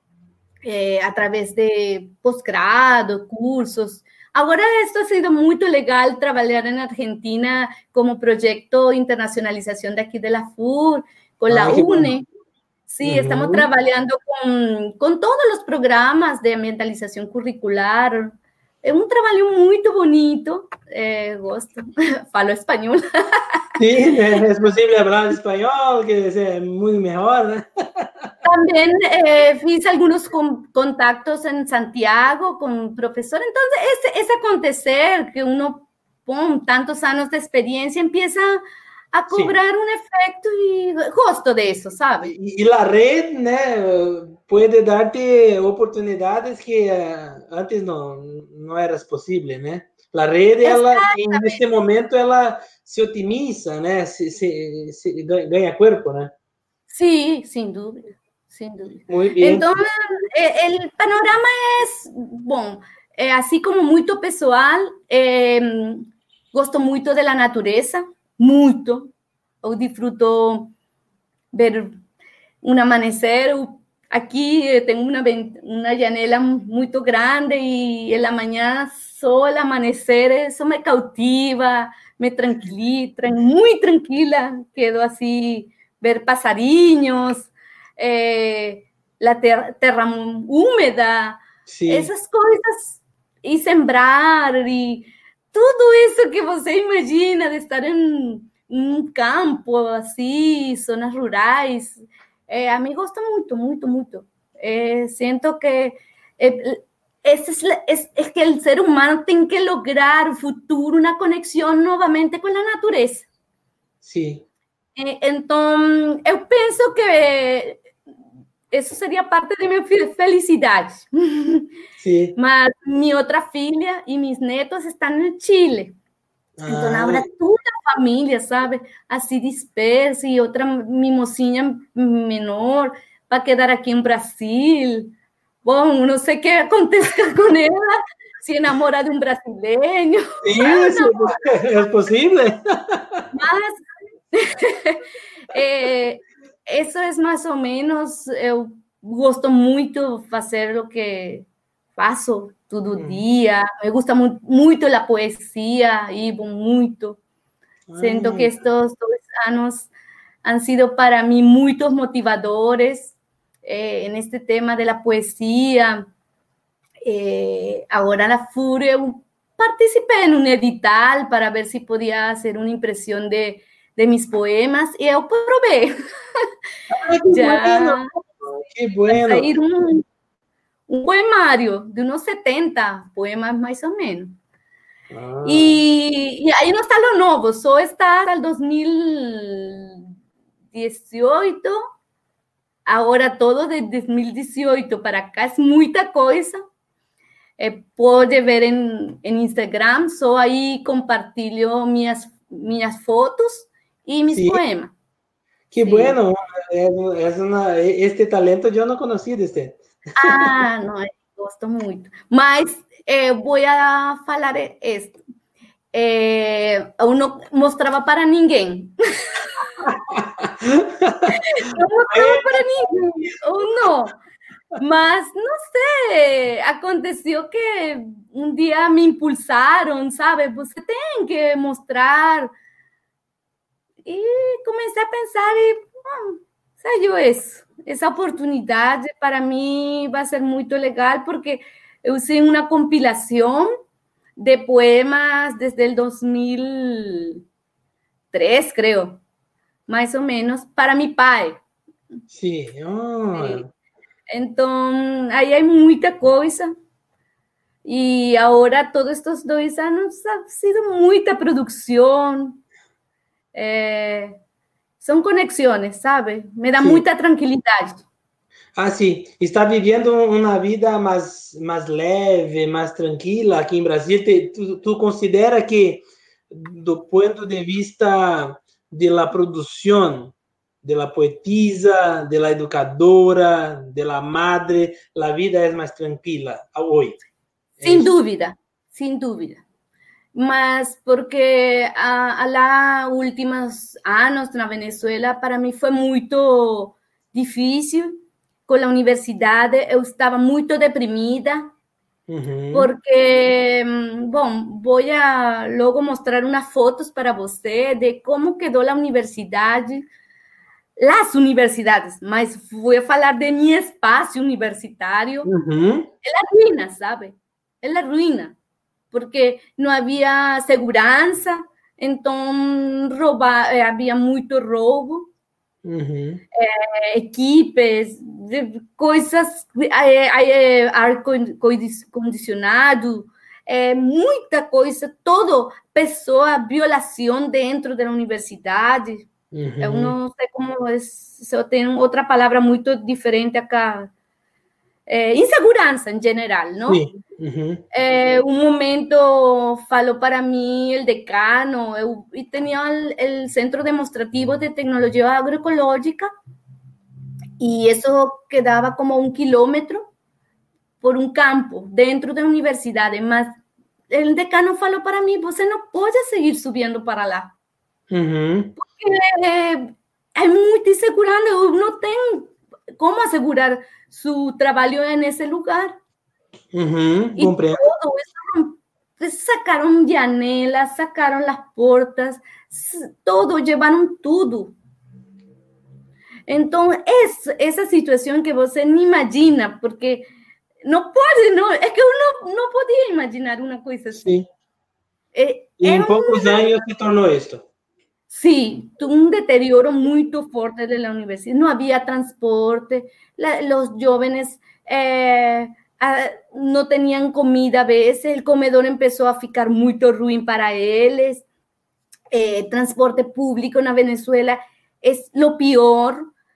eh, através de pós-grado, cursos. Agora, isso ha sido muito legal, trabalhar na Argentina como projeto de internacionalização daqui da FUR, com ah, a UNE. Sí, uh-huh. Estamos trabajando con, con todos los programas de ambientalización curricular. Es un trabajo muy bonito. Eh, gosto. Falo español. Sí, es posible hablar español, que es muy mejor. ¿No? También eh, hice algunos con, contactos en Santiago con profesores. Entonces, ese, ese acontecer que uno con tantos años de experiencia empieza a cobrar sí. un efecto y gosto de eso, ¿sabes? Y, y la red, ¿no? Puede darte oportunidades que uh, antes no, no eras posible, ¿no? La red, ela, en este momento, ela se otimiza, ¿no? Se, se, se ganha cuerpo, ¿no? Sí, sin duda, sin duda. Muy bien. Entonces, el panorama es, bueno, eh, así como muy pessoal, eh, gosto muito da natureza, muito. Eu disfruto ver um amanhecer. Aqui tenho uma, uma janela muito grande e na manhã só o amanhecer, isso me cautiva, me tranquiliza, muito tranquila. Quedo assim, ver passarinhos, eh, a terra, terra úmida, Sim. essas coisas, e sembrar, e tudo isso que você imagina de estar em um campo, assim, zonas rurais. Eh, a mim gosta muito, muito, muito. Eh, sinto que eh, esse é, é, é que o ser humano tem que lograr no futuro uma conexão novamente com a natureza. Sim. Eh, então, eu penso que isso seria parte da minha felicidade. Sim. Mas minha outra filha e meus netos estão no Chile. Então, Ah, agora toda a família, sabe, assim dispersa, e outra mimosinha menor vai quedar aqui no Brasil. Bom, não sei o que acontece com ela, se enamora de um brasileiro. sim, sim, é possível. Mas é, isso é mais ou menos, eu gosto muito de fazer o que faço todo Hum. dia. Me gusta muito, muito a poesia, e muito. Siento que estos dos años han sido para mí muy motivadores eh, en este tema de la poesía. Eh, ahora la FURE participé en un edital para ver si podía hacer una impresión de, de mis poemas y yo probé. Ay, qué Ya bueno, qué bueno. Va a salir un, un poemario de unos setenta poemas más o menos. Ah. Y, y ahí no está lo nuevo, solo está hasta el dos mil dieciocho. Ahora todo de dos mil dieciocho para acá es mucha cosa. Eh, puede ver en, en Instagram, solo ahí compartilho minhas, minhas fotos y mis Sí. poemas. Qué Sí. bueno, es, es una, este talento yo no conocía de usted. Ah, não, eu gosto muito. Mas eh, vou a falar isto. Eh, eu não mostrava para ninguém. Não mostrava para ninguém, ou não. Mas, não sei, aconteceu que um dia me impulsaram, sabe? Você tem que mostrar. E comecei a pensar e, bom, saiu isso. Essa oportunidade para mim vai ser muito legal, porque eu fiz uma compilação de poemas desde o dois mil e três, creio, mais ou menos, para meu pai. Sim. Oh. Então, aí há muita coisa. E agora, todos estes dois anos, ha sido muita produção. É... São conexões, sabe? Me dá Sim. muita tranquilidade. Ah, sim. Está vivendo uma vida mais, mais leve, mais tranquila aqui em Brasil. Te, tu, tu considera que, do ponto de vista da produção, da poetisa, da educadora, da madre, a vida é mais tranquila hoje? Sem dúvida, sem dúvida. Mas porque a, a lá últimos anos na Venezuela, para mim foi muito difícil com a universidade. Eu estava muito deprimida, uhum. porque, bom, vou a logo mostrar umas fotos para você de como quedou a universidade, as universidades, mas vou falar de meu espaço universitário. Uhum. É a ruína, sabe? É a ruína. Porque não havia segurança, então rouba, havia muito roubo, uhum. é, equipes, coisas, é, ar-condicionado, é, muita coisa, todo, pessoa, violação dentro da universidade. Uhum. Eu não sei como é, se eu tenho outra palavra muito diferente acá. É, insegurança em geral, não? Sim. Uhum. Eh, un momento faló para mí el decano, eu, y tenía el, el Centro Demostrativo de Tecnología Agroecológica, y eso quedaba como un kilómetro por un campo dentro de la universidad. Mas el decano faló para mí, você no puede seguir subiendo para lá. Uhum. Porque eh, hay mucha insegurança, no tengo cómo asegurar su trabajo en ese lugar. Uhum, y compreendo. todo eso, sacaron janelas, sacaron las puertas, todo, llevaron todo. Entonces, es esa situación que você no imagina, porque no puede, no, es que uno no podía imaginar una cosa así. Sí. Eh, y en un, pocos años se tornó esto. Sí, un deterioro muy fuerte de la universidad. No había transporte, la, los jóvenes eh, a, no tenían comida a veces, el comedor empezó a ficar muy ruim para ellos. Eh, transporte público en Venezuela es lo peor.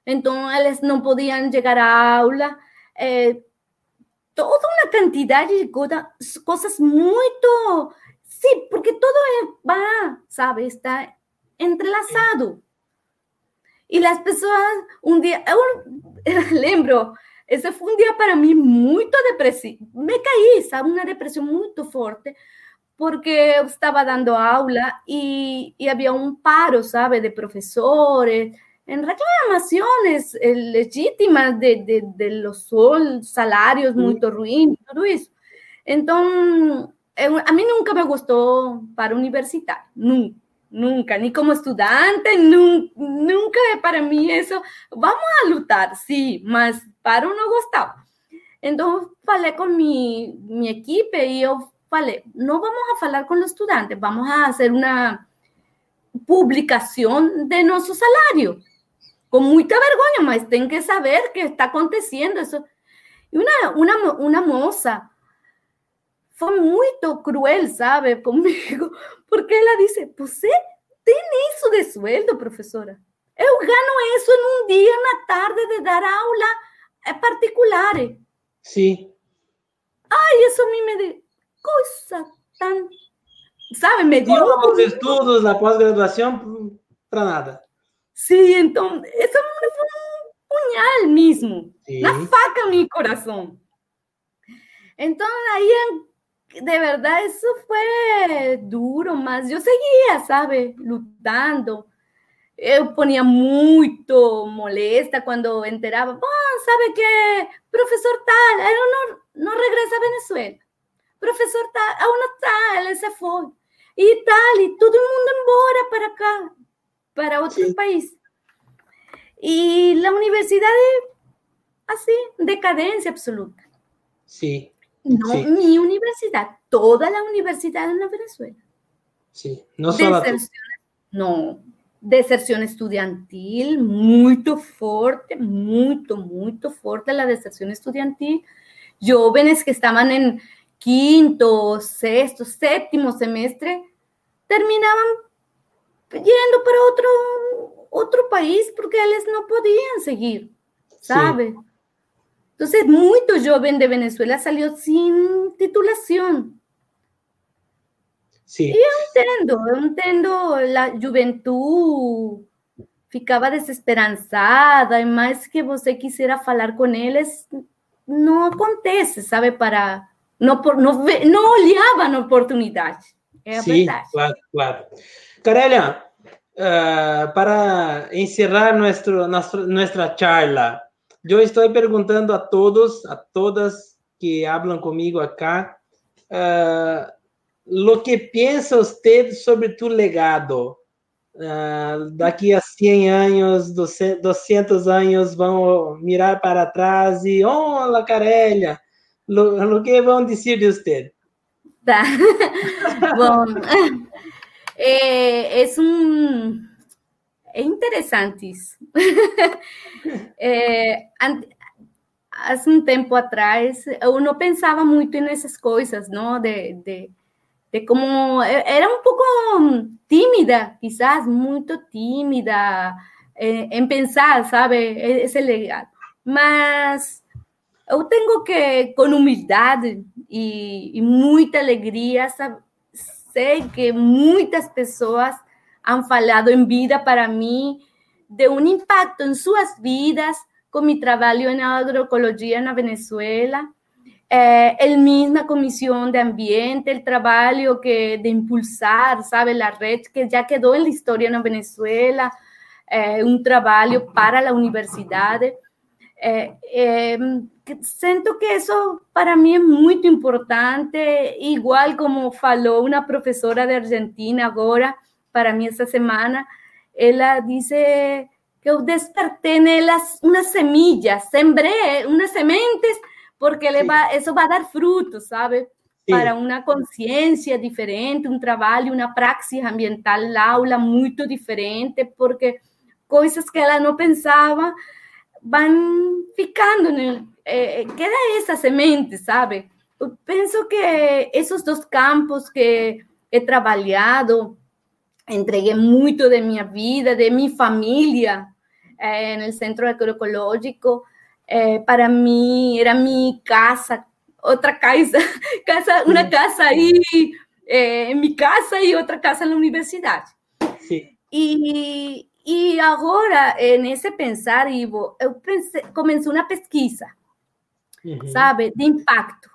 Então eles não podiam chegar à aula. É, toda uma quantidade de coisa, coisas muito... Sim, porque todo va, sabe, está entrelaçado. E as pessoas, um dia, eu lembro, esse foi um dia para mim muito depressivo. Me caí, sabe, uma depressão muito forte, porque eu estava dando aula e, e havia um paro, sabe, de professores, en reclamaciones eh, legítimas de, de, de los salarios muy ruins, todo eso. Entonces, a mí nunca me gustó para universitario, nunca, nunca, ni como estudiante, nunca, nunca para mí eso, vamos a luchar, sí, mas para no gustaba. Entonces, falei con mi, mi equipo y yo falei, no vamos a hablar con los estudiantes, vamos a hacer una publicación de nuestro salario. Com muita vergonha, mas tem que saber que está acontecendo isso. E uma, uma, uma moça foi muito cruel, sabe, comigo, porque ela disse, você tem isso de sueldo, professora? Eu ganho isso num dia, na tarde, de dar aula particular. Sim. Ai, isso a mim me deu coisa tão... Sabe, me deu... Os estudos, na pós-graduação, para nada. Sim, então, isso foi um punhal mesmo, Sim. na faca no meu coração. Então, aí, de verdade, isso foi duro, mas eu seguia, sabe, lutando. Eu ponia muito molesta quando enterava, bom, sabe que professor tal, ele não, não regressa à Venezuela. Professor tal, aún não está, ele se foi. E tal, e todo mundo embora para cá. Para otro sí. país. Y la universidad es así, decadencia absoluta. Sí. No sí. mi universidad, toda la universidad en la Venezuela. Sí, no solo deserción, no, deserción estudiantil, muy fuerte, muy, muy fuerte la deserción estudiantil. Jóvenes que estaban en quinto, sexto, séptimo semestre, terminaban yendo para otro, otro país porque eles não podiam seguir, sabe? Sí. Entonces, muito jovem de Venezuela salió sin titulação. Sí. E eu entendo, eu entendo, a juventude ficava desesperançada, e mais que você quisera falar com eles, não acontece, sabe? Para, não, não, não olhavam a oportunidade. É a sí, verdade. Claro, claro. Carelia, uh, para encerrar nuestro, nuestro, nuestra charla, yo estoy preguntando a todos, a todas que hablan conmigo acá, uh, lo que piensa usted sobre tu legado. Uh, daqui a cem anos, doscientos anos, vão mirar para trás e, olha, Carelia, lo, lo que vão dizer de usted? Tá. Bom... É, é, um, é interessante isso. É, há um tempo atrás, eu não pensava muito nessas coisas, não? De, de, de como... Era um pouco tímida, quizás, muito tímida é, em pensar, sabe? Esse legado. Mas eu tenho que, com humildade e, e muita alegria, sabe? Sei que muitas pessoas han falado en vida para mí de un impacto en sus vidas con mi trabajo en agroecología en Venezuela, eh, el misma Comisión de Ambiente, el trabajo que, de impulsar, ¿sabe? La red que ya quedó en la historia en Venezuela, eh, un trabajo para la universidad. Eh, eh, siento que eso para mí es muy importante, igual como falou una profesora de Argentina ahora, para mí esta semana, ella dice que yo desperté en elas unas semillas, sembré unas sementes, porque sí. va, eso va a dar frutos, ¿sabe? Sí. Para una conciencia diferente, un trabajo, una praxis ambiental, la aula muy diferente, porque cosas que ella no pensaba, van ficando, eh, queda essa semente, sabe? Eu penso que esses dois campos que he trabalhado, entreguei muito de minha vida, de minha família, eh, en el Centro Agroecológico. Eh, para mí era mi casa, otra casa, casa una casa ahí eh, en mi casa y otra casa en la universidad. Sí. E, e agora, nesse pensar, Ivo, eu pensei, comecei uma pesquisa, uhum. sabe, de impacto,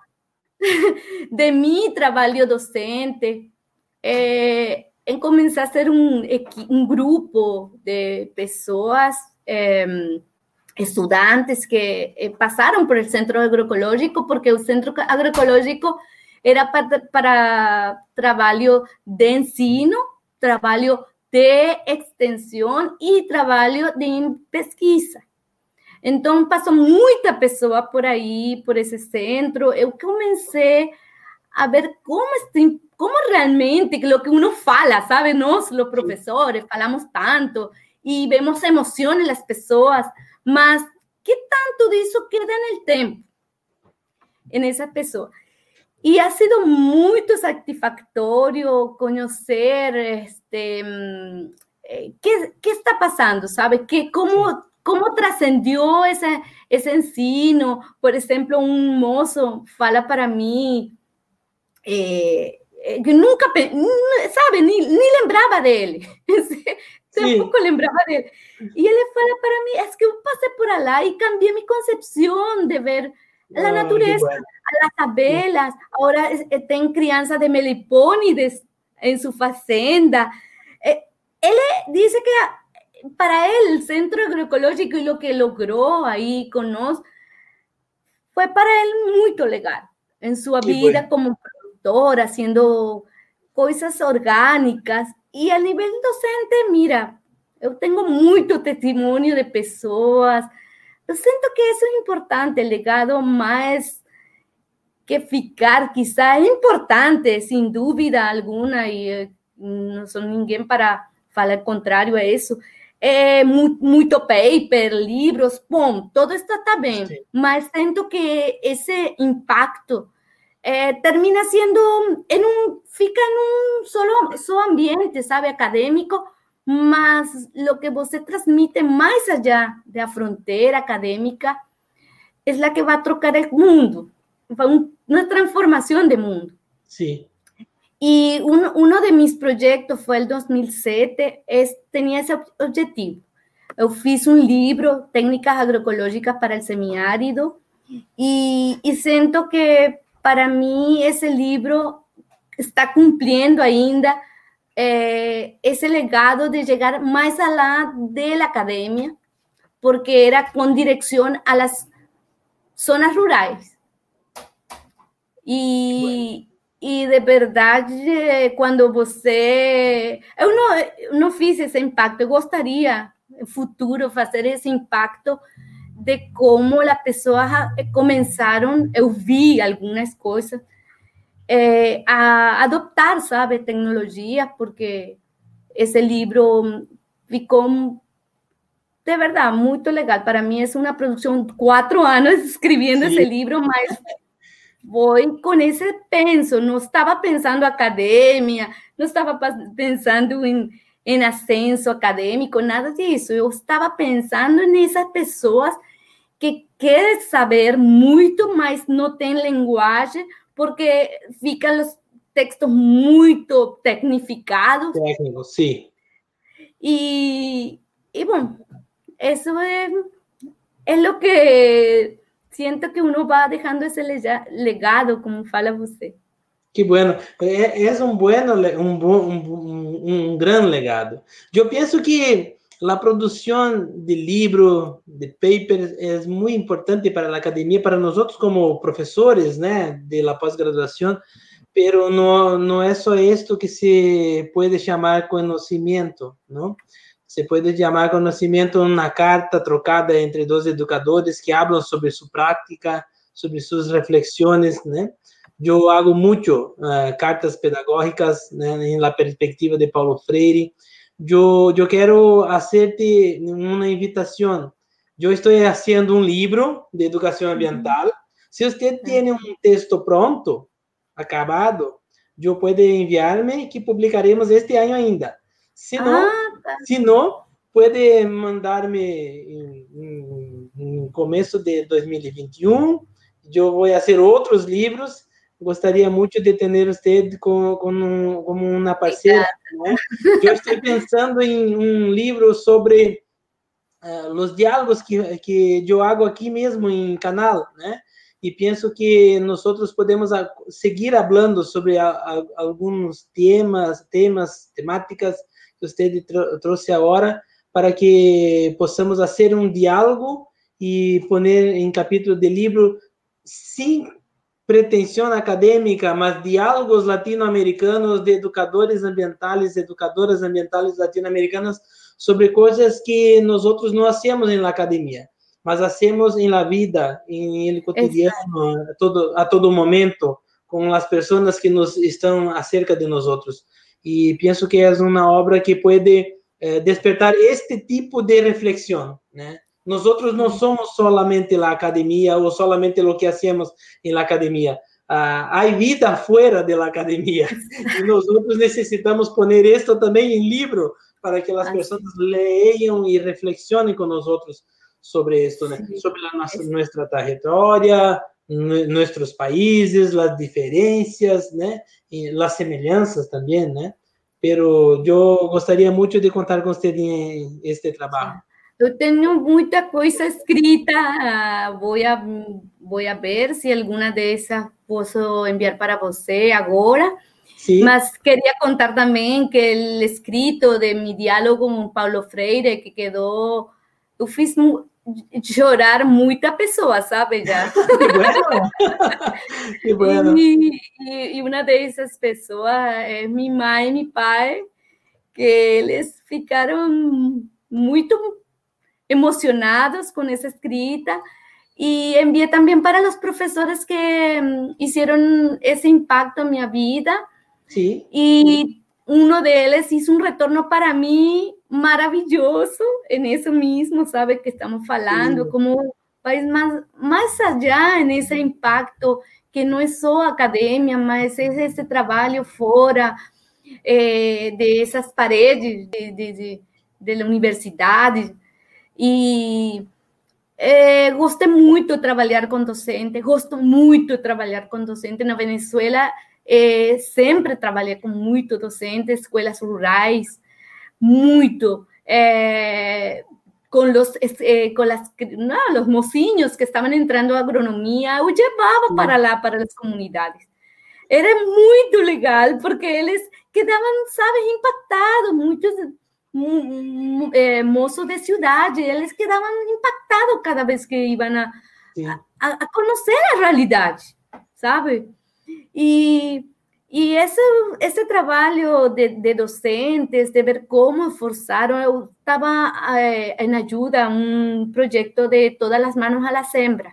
de meu trabalho docente, é, em começar a ser um, um grupo de pessoas, é, estudantes que eh, passaram por el Centro Agroecológico, porque o Centro Agroecológico era para, para trabalho de ensino, trabalho de extensão e trabalho de pesquisa. Então, passou muita pessoa por aí, por esse centro. Eu comecei a ver como, como realmente, o que uno fala, sabe? Nós, os professores, falamos tanto e vemos emoções nas pessoas, mas que tanto disso queda no tempo, nessa pessoa? E ha sido muito satisfatório conhecer este, que, que está passando, sabe? Que como, como transcendiu esse, esse ensino. Por exemplo, um moço fala para mim eh, que nunca, sabe, nem, nem lembrava dele. Tampouco lembrava dele. E ele fala para mim, é que eu passei por lá e cambiei minha concepção de ver a oh, natureza, bueno. As abelhas. Agora tem criança de melipônides em sua fazenda. Ele diz que para ele o Centro Agroecológico e o que logrou aí conosco foi para ele muito legal em sua que vida bueno. Como produtor, fazendo coisas orgânicas. E a nível docente, mira, eu tenho muito testemunho de pessoas. Eu sinto que isso é importante, legado mais que ficar, quizá é importante, sem dúvida alguma, e não sou ninguém para falar contrário a isso. É muito, muito paper, livros, bom, tudo isso está bem, sim. Mas sinto que esse impacto eh, termina sendo, em um, fica em um solo, só ambiente, sabe, acadêmico, mas o que você transmite mais allá da fronteira acadêmica é a que vai trocar o mundo, uma transformação de mundo. Sim. E um, um de meus projetos foi em dois mil e sete, es, tinha esse objetivo. Eu fiz um livro, Técnicas Agroecológicas para o Semiárido, e, e sinto que, para mim, esse livro está cumprindo ainda Eh, esse legado de chegar mais além da academia, porque era com direção às zonas rurais. E, bueno. E de verdade, quando você... Eu não, eu não fiz esse impacto, eu gostaria, no futuro, fazer esse impacto de como as pessoas começaram, eu vi algumas coisas, Eh, a adoptar, sabe, tecnologia, porque esse livro ficou, de verdade, muito legal. Para mim, é uma produção de quatro anos escrevendo esse livro, mas foi com esse penso. Não estava pensando em academia, não estava pensando em, em ascenso acadêmico, nada disso. Eu estava pensando nessas pessoas que querem saber muito, mas não têm linguagem, porque ficam os textos muito tecnificados. Técnicos, sim. E, e bom, isso é, é o que sinto que uno vai deixando esse legado, como fala você. Que bueno. É, é um bueno, um, um, um, um grande legado. Eu penso que a produção de livros, de papers, é muito importante para a academia, para nós como professores, né, de la pós-graduação, pero não, não é só isto que se pode chamar conhecimento, não? Se pode chamar conhecimento uma carta trocada entre dois educadores que falam sobre sua prática, sobre suas reflexões, né? Eu hago muito uh, cartas pedagógicas, né, na perspectiva de Paulo Freire. Eu, eu quero fazer-te uma invitação. Eu estou fazendo um livro de educação ambiental. Se você tem um texto pronto, acabado, eu pode enviar-me que publicaremos este ano ainda. Se não, ah, tá. se não puede mandarme en, en comienzo de dois mil e vinte e um. Yo voy a hacer otros libros. Gostaria muito de ter você como, como, como uma parceira, né? Eu estou pensando em um livro sobre uh, os diálogos que, que eu hago aqui mesmo em canal, né? E penso que nós podemos seguir falando sobre a, a, alguns temas, temas, temáticas que você trouxe agora, para que possamos fazer um diálogo e pôr em capítulo de livro sem pretensão acadêmica, mas diálogos latino-americanos de educadores ambientais, educadoras ambientais latino-americanas sobre coisas que nós outros não hacemos na academia, mas hacemos em la vida, em el cotidiano, a todo, a todo momento, com as pessoas que nos estão acerca de nós outros. E penso que é uma obra que pode eh, despertar este tipo de reflexão, né? Nós outros não somos solamente a academia ou solamente o que hacemos na academia. Ah, há vida fora da academia. E nós outros necessitamos pôr isto também em livro para que as pessoas leiam e reflexionem com nós outros sobre isso, né? Sobre a nossa, nossa trajetória, nossos países, as diferenças, né? E as semelhanças também, né? Pero eu gostaria muito de contar com você em este trabalho. Eu tenho muita coisa escrita, vou a, vou a ver se alguma dessas posso enviar para você agora. Sim. Mas queria contar também que o escrito de meu diálogo com Paulo Freire, que quedou... Eu fiz chorar muita pessoa, sabe? Já. Que bueno! Que bueno! E, e, e uma dessas pessoas é minha mãe e meu pai, que eles ficaram muito emocionados com essa escrita, e enviei também para os professores que fizeram esse impacto na minha vida. Sim. E um deles fez um retorno para mim maravilhoso, em isso mesmo, sabe, que estamos falando, sim, como vai mais, mais allá nesse impacto, que não é só academia, mas é esse trabalho fora eh, dessas paredes de, de, de, de universidade. E eh, gostei muito de trabalhar com docente, gosto muito de trabalhar com docente. Na Venezuela, eh, sempre trabalhei com muito docente, escolas rurais, muito, eh, com os, eh, com las, não, os mocinhos que estavam entrando a agronomia, eu levava para lá, para as comunidades. Era muito legal, porque eles quedavam, sabe, impactados, muitos... Eh, moços de cidade, eles quedavam impactados cada vez que iam a, a, a conhecer a realidade, sabe? E, e esse, esse trabalho de, de docentes, de ver como esforçaram, eu estava eh, em ajuda a um projeto de Todas as Manos a la Sembra.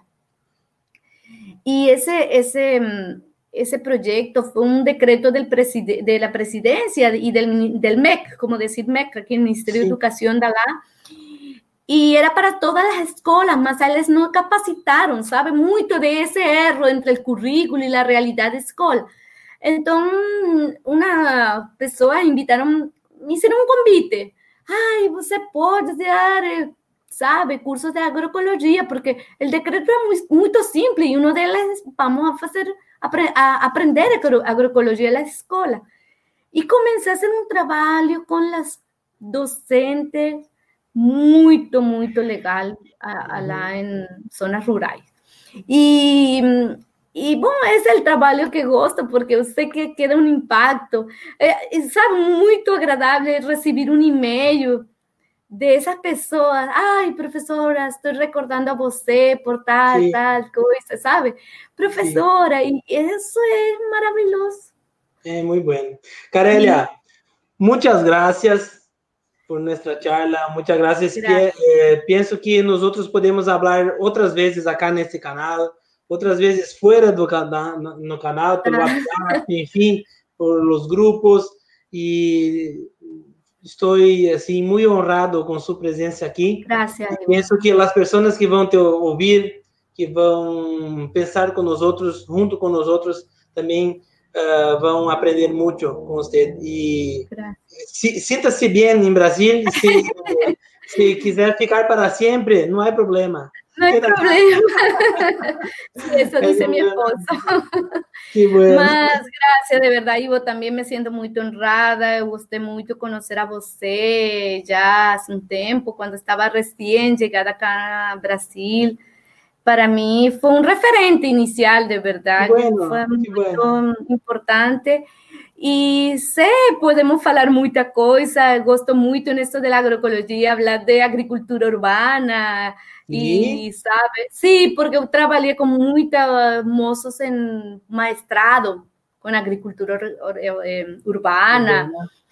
E esse... esse Ese proyecto fue un decreto del preside de la presidencia y del, del M E C, como decir M E C, aquí el Ministerio sí. de Educación de allá, y era para todas las escuelas, mas eles no capacitaron, sabe, muito de ese erro entre el currículo y la realidad de escola. Entonces, una pessoa invitaron, me hicieron un convite. Ai, você pode dar, sabe, cursos de agroecologia, porque el decreto es muy, muy simple, y uno de ellos vamos a hacer... a aprender agroecologia na escola. E comecei a fazer um trabalho com as docentes muito, muito legal a, a lá em zonas rurais. E, e, bom, esse é o trabalho que gosto, porque eu sei que queda um impacto. É, sabe, muito agradável receber um e-mail dessas pessoas. Ai, professora, estou recordando a você por tal, sí. tal coisa, sabe? Professora, sí. E isso é maravilhoso. É muito bom. Carelia, sí. Muchas gracias por nossa charla, muchas gracias. gracias. Que, eh, penso que nós podemos falar outras vezes aqui nesse canal, outras vezes fora do canal, no canal, pelo WhatsApp, enfim, por los grupos, e estou assim muito honrado com sua presença aqui. Graças. Penso que as pessoas que vão te ouvir, que vão pensar com nós outros, junto com nós outros, também uh, vão aprender muito com você. E sinta-se bem em Brasil. Se, Se quiser ficar para sempre, não é problema. No hay problema. Sí, eso dice mi esposo. Qué bueno. Mas, gracias, de verdad, Ivo, también me siento muy honrada. Eu gostei muito conocer a você já há um tempo, quando estava recém chegada acá a Brasil. Para mí fue un referente inicial, de verdad. Bueno, fue muy bueno. importante. E sé, podemos falar muita coisa. Gosto muito nisso da agroecologia, falar de agricultura urbana. E, sabe? Sim, porque eu trabalhei com muitos moços em mestrado com agricultura urbana.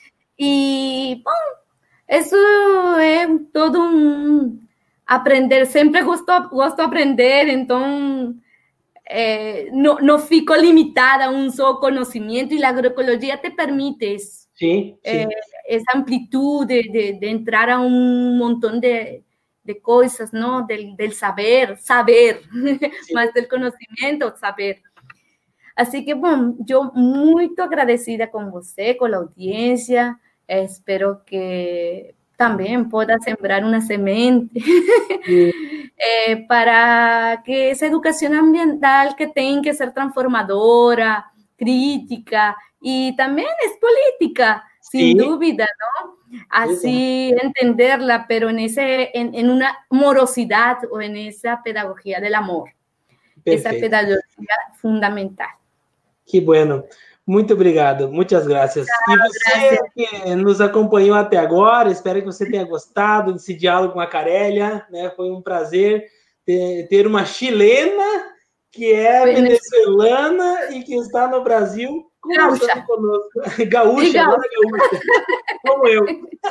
E, bom, isso é todo um aprender. Sempre gosto, gosto de aprender, então eh, não, não fico limitada a um só conhecimento, e a agroecologia te permite isso. Sim, sim. Eh, essa amplitude de, de entrar a um montão de de coisas, não? Del, del saber, saber, sí. Más del conhecimento, saber. Assim que, bom, eu muito agradecida com você, com a audiência, eh, espero que também possa sembrar uma semente sí. eh, para que essa educação ambiental que tem que ser transformadora, crítica e também é política, sin sí. dúvida, ¿no? Así sí. entenderla, pero en, ese, en, en una morosidad o en esa pedagogía del amor. Perfeito. Esa pedagogía fundamental. Que bueno. Muito obrigado. Muitas graças. Ah, e você graças. que nos acompanhou até agora, espero que você tenha gostado desse diálogo com a Carélia, né? Foi um prazer ter, ter uma chilena que é Foi venezuelana e que está no Brasil conversando conosco. Gaúcha, gaúcha. gaúcha. Como eu.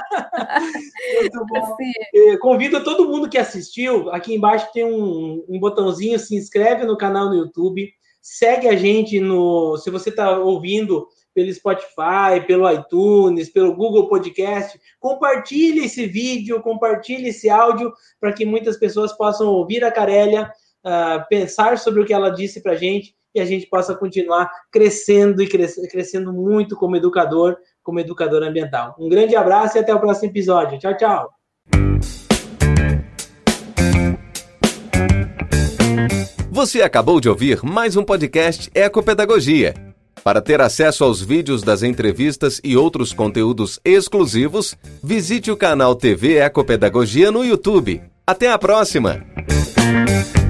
Muito bom. É. Convido todo mundo que assistiu. Aqui embaixo tem um, um botãozinho, se inscreve no canal no YouTube. Segue a gente no... Se você está ouvindo pelo Spotify, pelo iTunes, pelo Google Podcast, compartilhe esse vídeo, compartilhe esse áudio para que muitas pessoas possam ouvir a Carélia, uh, pensar sobre o que ela disse para a gente e a gente possa continuar crescendo e cres- crescendo muito como educador, como educador ambiental. Um grande abraço e até o próximo episódio. Tchau, tchau. Você acabou de ouvir mais um podcast Ecopedagogia. Para ter acesso aos vídeos das entrevistas e outros conteúdos exclusivos, visite o canal T V Ecopedagogia no YouTube. Até a próxima!